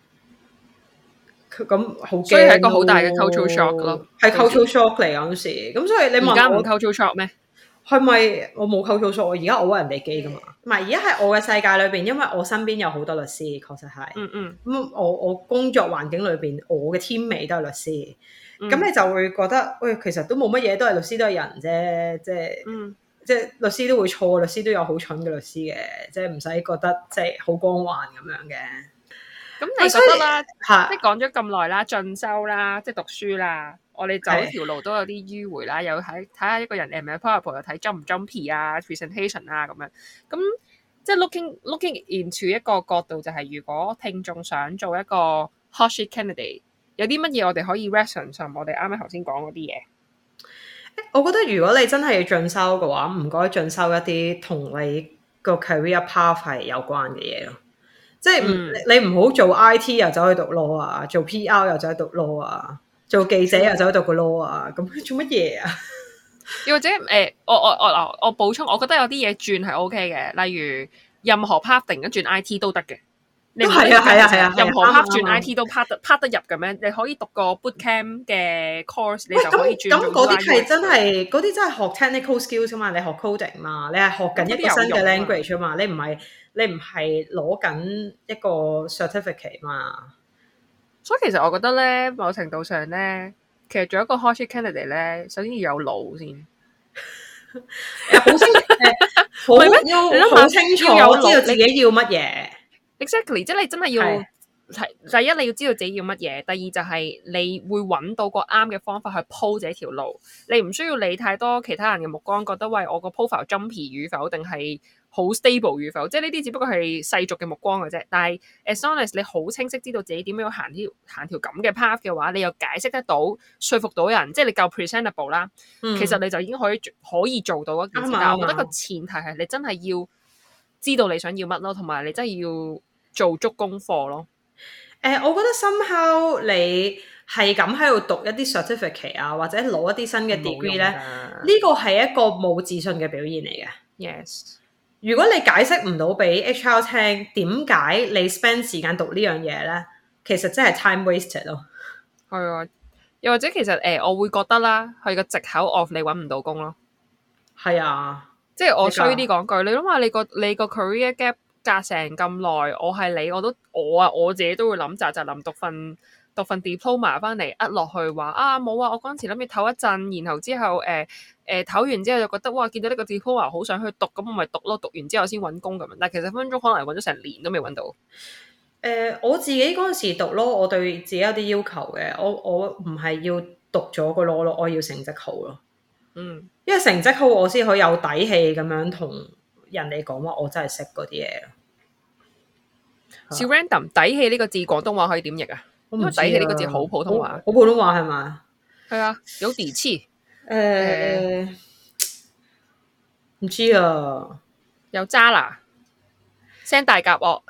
咁好驚， 所以係一個好大嘅 cultural shock 咯， 係 cultural shock 嚟嗰陣時。咁所以你問我而家唔 cultural shock 咩？ 係咪我冇 cultural shock？而家我屈人哋機噶嘛？唔係，而家喺我嘅世界裏邊，因為我身邊有好多律師，確實係。咁我工作環境裏邊，我嘅 teammate 都係律師。咁你就會覺得，喂，其實都冇乜嘢，都係律師都係人啫，即係律師都會錯，律師都有好蠢嘅律師嘅，即係唔使覺得即係好光環咁樣嘅。 咁你覺得啦，即係講咗咁耐啦，進修啦，即係讀書啦，我哋走條路都有啲迂迴啦，有睇下一個人係咪 powerful， 又睇 jump 唔 jumpy 啊 ，presentation 啊咁樣。咁即係 looking into 一個角度，就係如果聽眾想做一個 hot sheet candidate， 有啲乜嘢我哋可以 reference 上我哋啱啱頭先講嗰啲嘢。 我覺得如果你真係要進修嘅話，唔該進修一啲同你個 career path 係有關嘅嘢咯。即係你唔好做 IT 又走去讀 law 啊，做 PR 又走去讀 law 啊，做記者又走去讀個 law 啊，咁做乜嘢啊？ 又或者我補充，我覺得有啲嘢轉係 OK 嘅，例如任何 part 突然間轉 IT 都得嘅。你係啊，任何 part 轉 IT 都 part 得入嘅咩？你可以讀個 bootcamp 嘅 course， 你就可以轉。咁嗰啲係真係嗰啲真係學 technical skills 啊嘛，你學 coding 嘛，你係學緊一個新嘅 language 啊嘛，你唔係攞緊一個 certificate 嘛。所以其實我覺得咧，某程度上咧，其實做一個 hot sheet candidate 咧，首先要有腦先。好清楚， 知道自己要乜嘢。 Exactly， 即係你真係要第一你要知道自己要乜嘢，第二就係你會揾到個啱嘅方法去鋪這條路。你唔需要理太多其他人嘅目光，覺得喂我個 profile jumpy 與否，定係好 stable 與否，即係呢啲只不過係世俗嘅目光嘅啫。但係 as long as 你好清晰知道自己點樣行條咁嘅 path 嘅話，你又解釋得到，說服到人，即係你夠 presentable 啦。其實你就已經可以做到一件事。但係我覺得個前提係你真係要知道你想要乜咯，同埋你真係要做足功課咯。 我覺得 somehow 你係咁喺度讀一啲 certificate 啊，或者攞一啲新嘅 degree 咧，呢個係一個冇自信嘅表現嚟嘅。 Yes， 如果你解釋唔到俾 HR 聽點解你 spend 時間讀呢樣嘢咧，其實真係 time wasted 咯。 係啊，又或者其實我會覺得啦，係個藉口 of 你揾唔到工咯。 係啊， 即係我衰啲講句，你諗下你個 career gap 隔成咁耐，我係你我自己都會諗扎諗讀份 diploma 翻嚟呃落去話啊冇啊，我嗰陣時諗住唞一陣，然後之後唞完之後就覺得哇見到呢個 diploma 好想去讀，咁我咪讀咯，讀完之後先揾工咁樣。但係其實分分鐘可能揾咗成年都未揾到。 我自己嗰陣時讀咯，我對自己有啲要求嘅，我唔係要讀咗個 law 咯，我要成績好咯。 嗯， 因為成績好，我先可以有底氣咁樣同人哋講話，我真係識嗰啲嘢。 小 random 底氣呢個字廣東話可以點譯啊？因為底氣呢個字好普通話， 好普通話係咪？ 係啊，有底氣。 唔知啊， 有渣啦，聲大夾惡。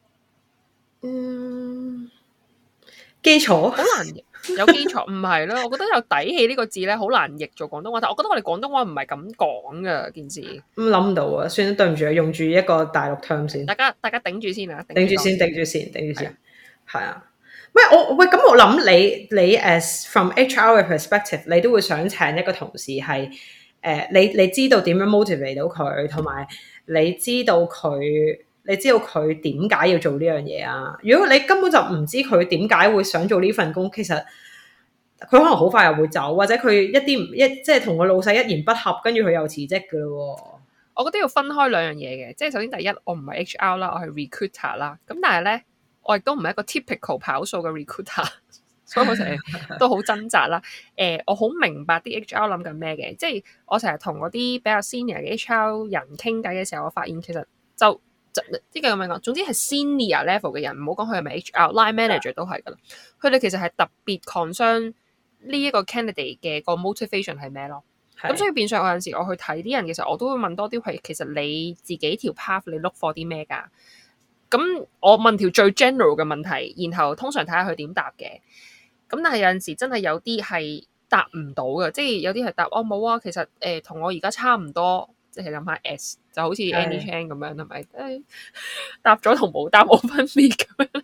基礎好難譯，有基礎唔係咯？我覺得有底氣呢個字咧，好難譯做廣東話。但我覺得我哋廣東話唔係咁講噶件事。 諗唔到啊！算啦，對唔住啊，用住一個大陸 term 先。 大家頂住先啊！ 頂住先，係啊。喂，咁我諗你 as from HR 嘅 perspective， 你都會想請一個同事係你知道點樣 motivate 到佢，同埋你知道佢點解要做呢樣嘢啊？如果你根本就唔知佢點解會想做呢份工，其實佢可能好快又會走，或者佢即係同個老細一言不合，跟住佢又辭職噶咯。 我覺得要分開兩樣嘢嘅，即係首先第一，我唔係 HR 啦，我係 recruiter 啦。咁但係咧，我亦都唔係一個 typical 跑數嘅 recruiter， 所以我成日都好掙扎啦。我好明白啲 HR 諗緊咩嘅，即係我成日同嗰啲比較 senior 嘅 HR 人傾偈嘅時候，我發現其實就呢個咁樣講，總之係 senior level 嘅人，唔好講佢係咪 HR，line manager 都係噶啦。佢哋其實係特別 concern 呢一個 candidate 嘅個 motivation 係咩咯？咁所以變相有陣時我去睇啲人，其實我都會問多啲係其實你自己條 path 你 look for 啲咩㗎？咁我問條最 general 嘅問題，然後通常睇下佢點答嘅。咁但係有陣時真係有啲係答唔到嘅，即係有啲係答哦冇啊，其實同我而家差唔多，即係諗下 S 就好似 Annie Chan 咁樣係咪？答咗同冇答冇分別咁樣。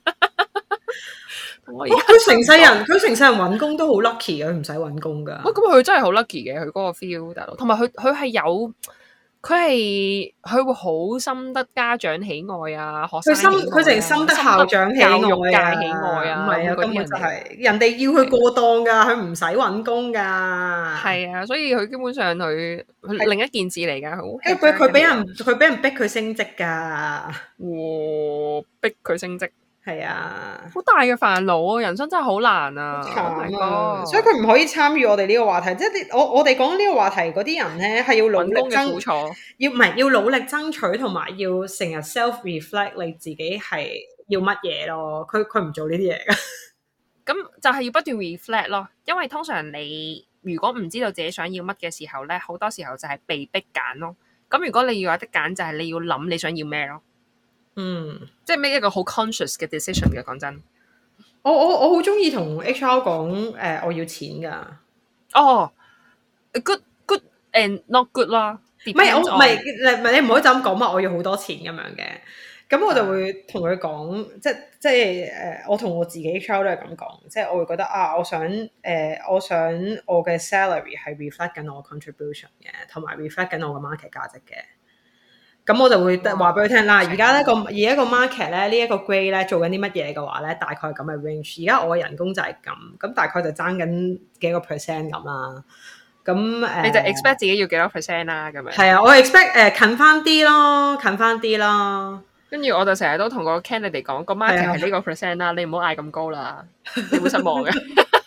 佢成世人揾工都好 lucky 嘅，佢唔使揾工噶。 咁佢真係好 lucky 嘅，佢嗰個 feel 大佬，同埋佢係有，佢會好深得家長喜愛啊，學生喜愛啊， 佢成深得校長喜愛啊， 教育界喜愛啊， 唔係啊，根本就係人哋要佢過檔噶，佢唔使揾工噶。 係啊，所以佢基本上佢另一件事嚟噶， 佢俾人逼佢升職噶， 逼佢升職。 係啊， 好大嘅煩惱啊！人生真係好難啊！ 所以佢唔可以參與我哋呢個話題。即係我哋講呢個話題嗰啲人咧，係要努力爭取，要努力爭取，同埋要成日 self reflect 你自己係要乜嘢咯。佢唔做呢啲嘢㗎。 咁就係要不斷 reflect 咯。因為通常你如果唔知道自己想要乜嘅時候咧，好多時候就係被逼揀咯。咁如果你要有得揀，就係你要諗你想要咩咯。即係 make 一個好 conscious 嘅 decision 嘅。講真， 我好中意同 HR 講我要錢噶。 good and not good 啦。 唔係你唔可以就咁講嘛，我要好多錢咁樣嘅。咁我就會同佢講，即係我同我自己 HR 都係咁講，即係我會覺得我想我嘅 salary 係 reflect 緊我 contribution 嘅，同埋 reflect 緊我嘅 market 價值嘅。咁我就會話俾佢聽啦。而家個 market 咧，呢一個 grade 咧做緊啲乜嘢嘅話咧，大概咁嘅 range。而家我嘅人工就係咁大概就爭緊幾個 percent 咁啦。咁你就 expect 自己要幾多 percent 啦？咁樣係啊，我 expect 近翻啲咯。跟住我就成日都同個 candidate 講，個 market 係呢個 percent 啦，你唔好嗌咁高啦，你會失望嘅。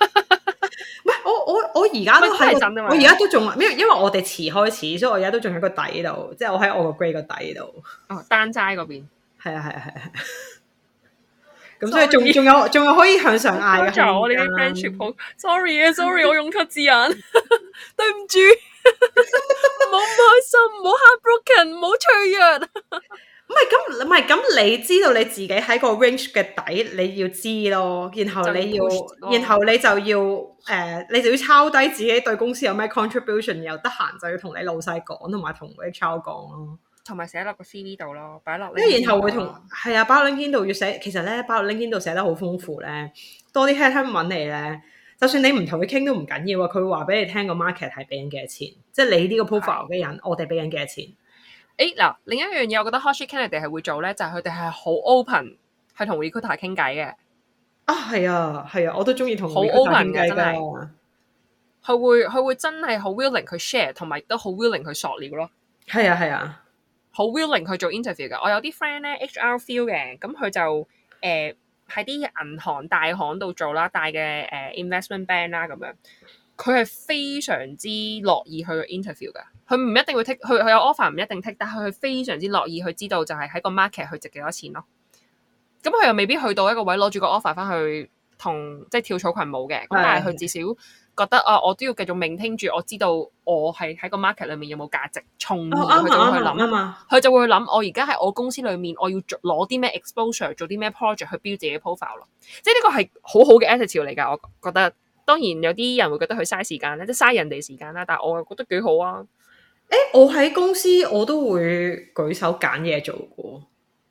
我而家都係，我而家都仲，因為我哋遲開始，所以我而家都仲喺個底度，即係我喺我個 grade 個底度。 單齋嗰邊係啊。咁所以仲有可以向上嗌嘅空間。 我哋啲 friendship 好 sorry，我用錯字眼，對唔住，唔好唔開心，唔好 heartbroken，唔好脆弱。 唔係咁，唔係咁，你知道你自己喺個 range 嘅底，你要知咯。然後你要，然後你就要你就要抄低自己對公司有咩 contribution，又得閒就要同你老細講，同埋同 HR 講咯。 同埋寫落個 CV 度咯，擺落。 跟住然後會係啊，擺落 LinkedIn 度要寫。其實咧，擺落 LinkedIn 度寫得好豐富咧，多啲 headhunt 揾你咧。就算你唔同佢傾都唔緊要啊，佢會話俾你聽個 market 係俾緊幾多錢，即係你呢個 profile 嘅人，我哋俾緊幾多錢。 嗱，另一樣嘢，我覺得 Hot Shit Candidate 係會做咧，就係佢哋係好 open，係同 recruiter 傾偈嘅。 係啊，我都中意同好 open 嘅，真係。佢會真係好 willing 去 share，同埋亦都好 willing 去索料咯。 係啊， 好 willing 去做 interview 嘅。我有啲 friend 咧 HR feel 嘅，咁佢就喺啲銀行大行度做啦，大嘅investment bank 啦咁樣，佢係非常之樂意去 interview 㗎。佢唔一定會 take，佢有 offer 唔一定 take，但係佢非常之樂意去知道就係喺個 market 去值幾多錢咯。咁佢又未必去到一個位攞住個 offer 翻去同即係跳草裙舞嘅，咁但係佢至少覺得我都要繼續maintain住，我知道我係喺個 market 裏面有冇價值，從而佢就會去諗，佢就會去諗我而家喺我公司裏面，我要攞啲咩 exposure， 做啲咩 project 去 build 自己 profile 咯。即係呢個係好好嘅 attitude 嚟㗎，我覺得。當然有啲人會覺得佢嘥時間咧，即係嘥人哋時間啦，但係我又覺得幾好啊。 我喺公司我都會舉手揀嘢做過。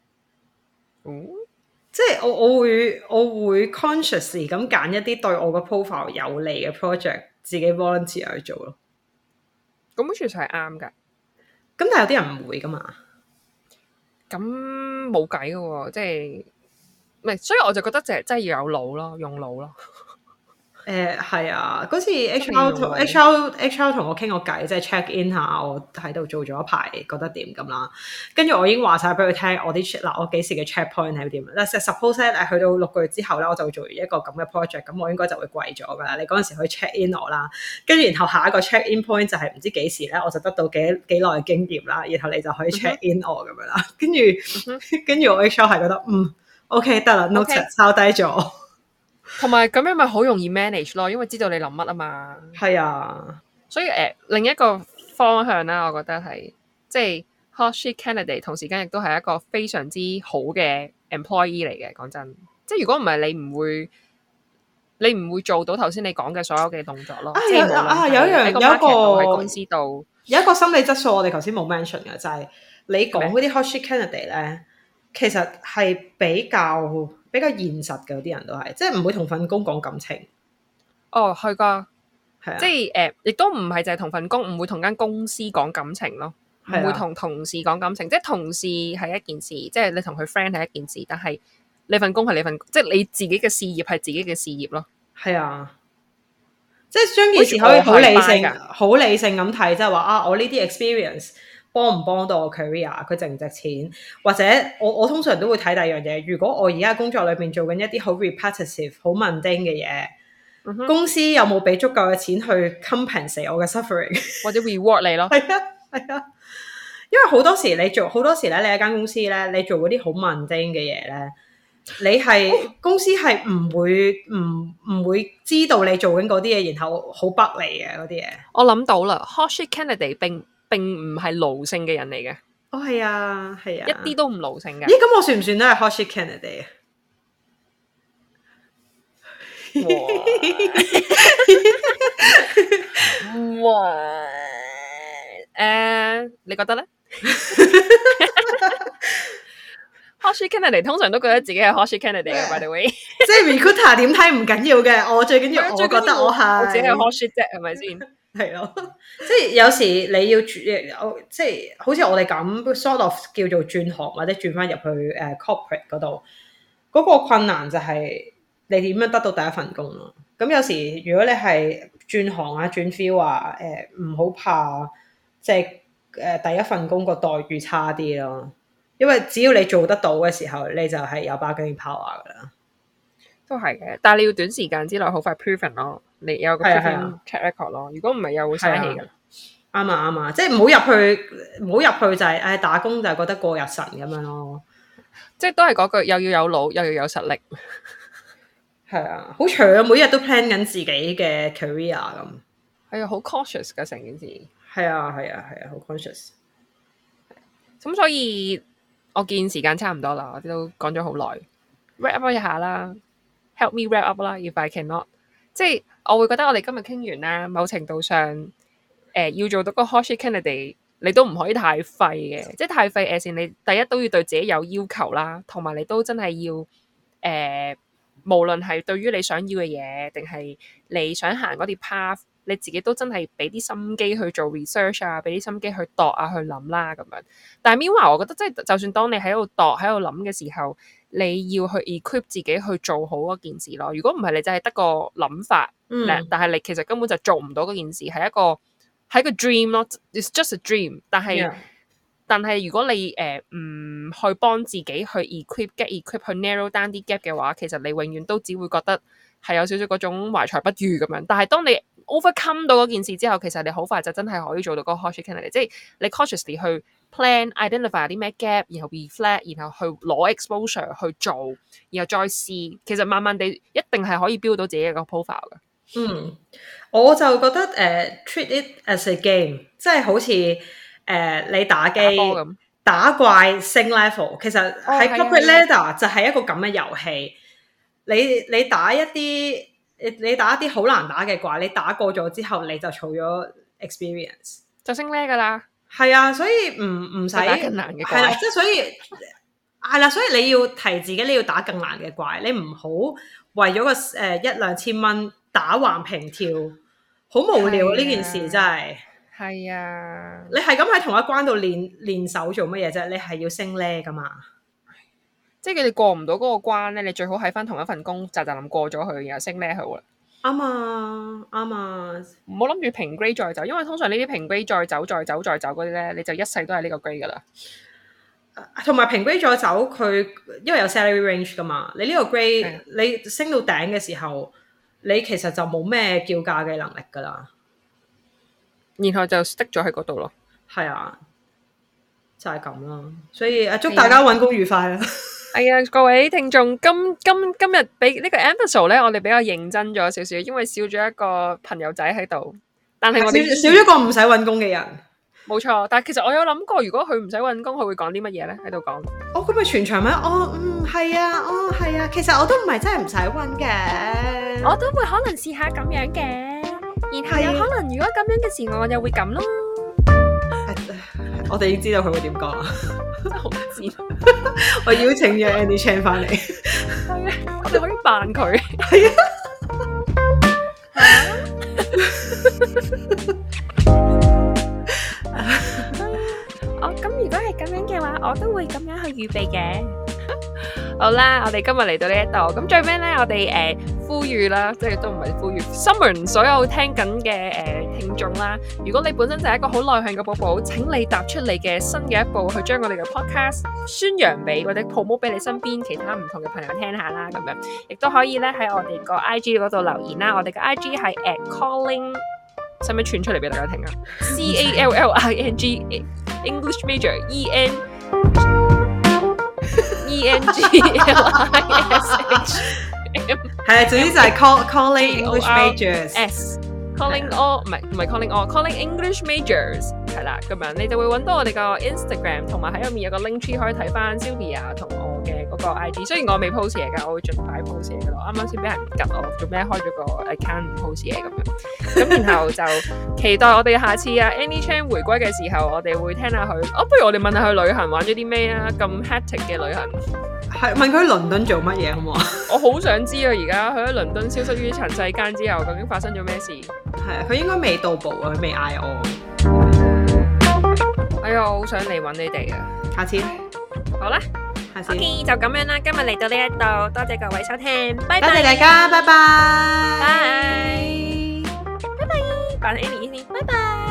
即係我會 consciously 咁揀一啲對我個 profile 有利嘅 project， 自己 volunteer 去做咯。 咁其實係啱㗎。 咁但係有啲人唔會㗎嘛。 咁冇計㗎喎，即係唔係？所以我就覺得真係要有腦咯，用腦咯。 係啊，嗰次 HR 同我傾個偈，即係 check in 下我喺度做咗一排，覺得點咁啦。跟住我已經話晒俾佢聽，我幾時嘅 check point 係點。suppose 去到6個月之後咧，我就會做完一個咁嘅 project，咁我應該就會貴咗㗎啦。你嗰陣時可以 check in 我啦，跟住然後下一個 check in point 就係唔知幾時咧，我就得到幾耐嘅經驗啦，然後你就可以 check in 我咁樣啦。跟住我 HR 係覺得OK 得啦 note 抄低咗。 同埋咁樣咪好容易 manage 咯，因為知道你諗乜啊嘛。 係啊， 所以另一個方向啦，我覺得係即係 Hot Shit Candidate，同時間亦都係一個非常之好嘅 employee 嚟嘅。講真，即係如果唔係你唔會做到頭先你講嘅所有嘅動作咯。即係有一個喺公司度有一個心理質素，我哋頭先冇 mention 嘅就係你講嗰啲 Hot Shit Candidate 咧，其實係比較現實嘅，啲人都係，即係唔會同份工講感情。 係㗎， 係啊， 即係亦都唔係就係同份工，唔會同間公司講感情咯，唔會同同事講感情。即係同事係一件事，即係你同佢 friend 係一件事，但係你份工係你份，即係你自己嘅事業係自己嘅事業咯。 係啊，即係將件事可以好理性咁睇，即係話我呢啲 experience。幫唔幫到我 career？ 佢值唔值錢？或者我通常都會睇第二樣嘢。如果我而家工作裏面做緊一啲好 repetitive、好 mundane 嘅嘢，公司有冇俾足夠嘅錢去 compensate 我嘅 suffering， 或者 reward 你咯？ 係啊，因為好多時咧，你喺間公司咧，你做嗰啲好 mundane 嘅嘢咧，你係公司係唔會知道你做緊嗰啲嘢，然後好不利嘅嗰啲嘢。 我諗到啦 ，Hot Shit Candidate 並唔係奴性嘅人嚟嘅。 係啊，一啲都唔奴性嘅。 咦，咁我算唔算都係 Hot Shit Candidate 你覺得咧？Hot Shit Candidate 通常都覺得自己係 Hot Shit Candidate 嘅，by the way。 即係 recruiter 點睇唔緊要嘅，我最緊要我覺得我係我自己係 Hot Shit 啫，係咪先？ 係咯，即係有時你要即係好似我哋咁 sort of 叫做轉行或者轉翻入去corporate 嗰度，嗰個困難就係你點樣得到第一份工咯。咁有時如果你係轉行啊轉 feel 啊，唔好怕即係第一份工個待遇差啲咯，因為只要你做得到嘅時候，你就係有 bargaining power 噶啦。都係嘅，但係你要短時間之內好快 proven 咯，你有個 proven track record 咯。如果唔係又會嘥氣噶啦。 啱啊，即係唔好入去就係打工就係覺得過日神咁樣咯。 即係都係嗰句，又要有腦，又要有實力。 係啊，好長，每日都 plan 緊自己嘅 career 咁。 係啊，好 cautious 噶成件事。 係啊，好 conscious。 咁所以我見時間差唔多啦，我哋都講咗好耐 ，wrap up 一下啦 ，help me wrap up 啦 ，if I cannot， 即係我會覺得我哋今日傾完啦，某程度上，要做到個 hot shit candidate， 你都唔可以太廢嘅，即係太廢誒，你第一都要對自己有要求啦，同埋你都真係要無論係對於你想要嘅嘢，定係你想行嗰啲 path。你自己都真係俾啲心機去做 research 啊，俾啲心機去度啊，去諗啦咁樣。但係 meanwhile，我覺得即係就算當你喺度度、喺度諗嘅時候，你要去 equip 自己去做好嗰件事咯。如果唔係，你就係得個諗法，但係你其實根本就做唔到嗰件事，係一個 dream 咯。It's just a dream。但係如果你唔去幫自己去 get equip 去 narrow down 啲 gap 嘅話，其實你永遠都只會覺得係有少少嗰種懷才不遇咁樣。但係當你overcome 到嗰件事之後，其實你好快就真係可以做到嗰個 hot shit candidate，即係你 cautiously 去 plan、identify 啲咩 gap， 然後 reflect， 然後去攞 exposure 去做，然後再試，其實慢慢地一定係可以 build 到自己一個 profile 嘅。 我就覺得treat it as a game， 即係好似你打機打怪升 level， 其實喺 corporate ladder 就係一個咁嘅遊戲。你打一啲好難打嘅怪，你打過咗之後，你就儲咗 experience， 就升 level 噶啦。係啊，所以唔使打更難嘅怪。 係啦，即係所以係啦，所以你要提自己，你要打更難嘅怪，你唔好為咗個1-2千蚊打橫平跳，好無聊呢件事真係。 係啊， 你係咁喺同一關度練手做乜嘢啫？你係要升 level 噶嘛？ 即係佢哋過唔到嗰個關咧，你最好喺翻同一份工，就咁過咗去，然後升 level 啦。 啱啊， 唔好諗住平 grade 再走，因為通常呢啲平 grade 再走嗰啲咧，你就一世都係呢個 grade 噶啦。 同埋平 grade 再走，佢因為有 salary range 噶嘛，你呢個 grade 你升到頂嘅時候，你其實就冇咩叫價嘅能力噶啦。 然後就 stick 咗喺嗰度咯。 係啊，就係咁啦。所以祝大家揾工愉快啦。 係啊，各位聽眾，今日俾呢個 episode 咧，我哋比較認真咗少少，因為少咗一個朋友仔喺度。但係我哋少咗個唔使揾工嘅人。 冇錯，但係其實我有諗過，如果佢唔使揾工，佢會講啲乜嘢咧？喺度講。 咁咪全場咩？係啊，其實我都唔係真係唔使揾嘅。 我都會可能試下咁樣嘅。然後有可能如果咁樣嘅時候，我又會咁咯。 我哋已經知道佢會點講啦。 真係好賤。 我邀請咗 Andy Chan 翻嚟。 係啊，我哋可以扮佢。 係啊。咁如果係咁樣嘅話，我都會咁樣去預備嘅。好啦，我哋今日嚟到呢一度，咁最尾咧，我哋呼籲啦，即係都唔係呼籲 summon 所有聽緊嘅聽眾啦。如果你本身就係一個好內向嘅寶寶，請你踏出你嘅新嘅一步，去將我哋嘅 podcast 宣揚俾或者 promote 俾你身邊其他唔同嘅朋友聽下啦。咁樣亦都可以咧喺我哋個 IG 嗰度留言啦。我哋嘅 IG 係 @calling， 使唔使串出嚟俾大家聽啊？CALLING English Major ENGLISH。 係啊，總之就係 calling English majors。calling all 唔係 calling all，calling English majors 係啦，咁樣你就會揾到我哋個 Instagram， 同埋喺入面有個 link tree 可以睇翻 Sylvia 同我嘅嗰個 IG。雖然我未 post 嘢㗎，我會盡快 post 嘢㗎咯。啱啱先俾人吉我，做咩開咗個 account 唔 post 嘢咁樣。咁然後就期待我哋下次啊 Andy Chan 回歸嘅時候，我哋會聽下佢。不如我哋問下佢旅行玩咗啲咩啊？咁 hectic 嘅旅行。 係問佢去倫敦做乜嘢好唔好啊？ 我好想知啊！而家佢喺倫敦消失於塵世間之後，究竟發生咗咩事？ 係啊，佢應該未到埗啊，佢未嗌我。 哎呀，我好想嚟揾你哋啊！ 下次好啦， 下次 OK 就咁樣啦。今日嚟到呢一度，多謝各位收聽，拜拜。 多謝大家，拜拜。 拜拜。拜拜，扮 Annie 先，拜拜。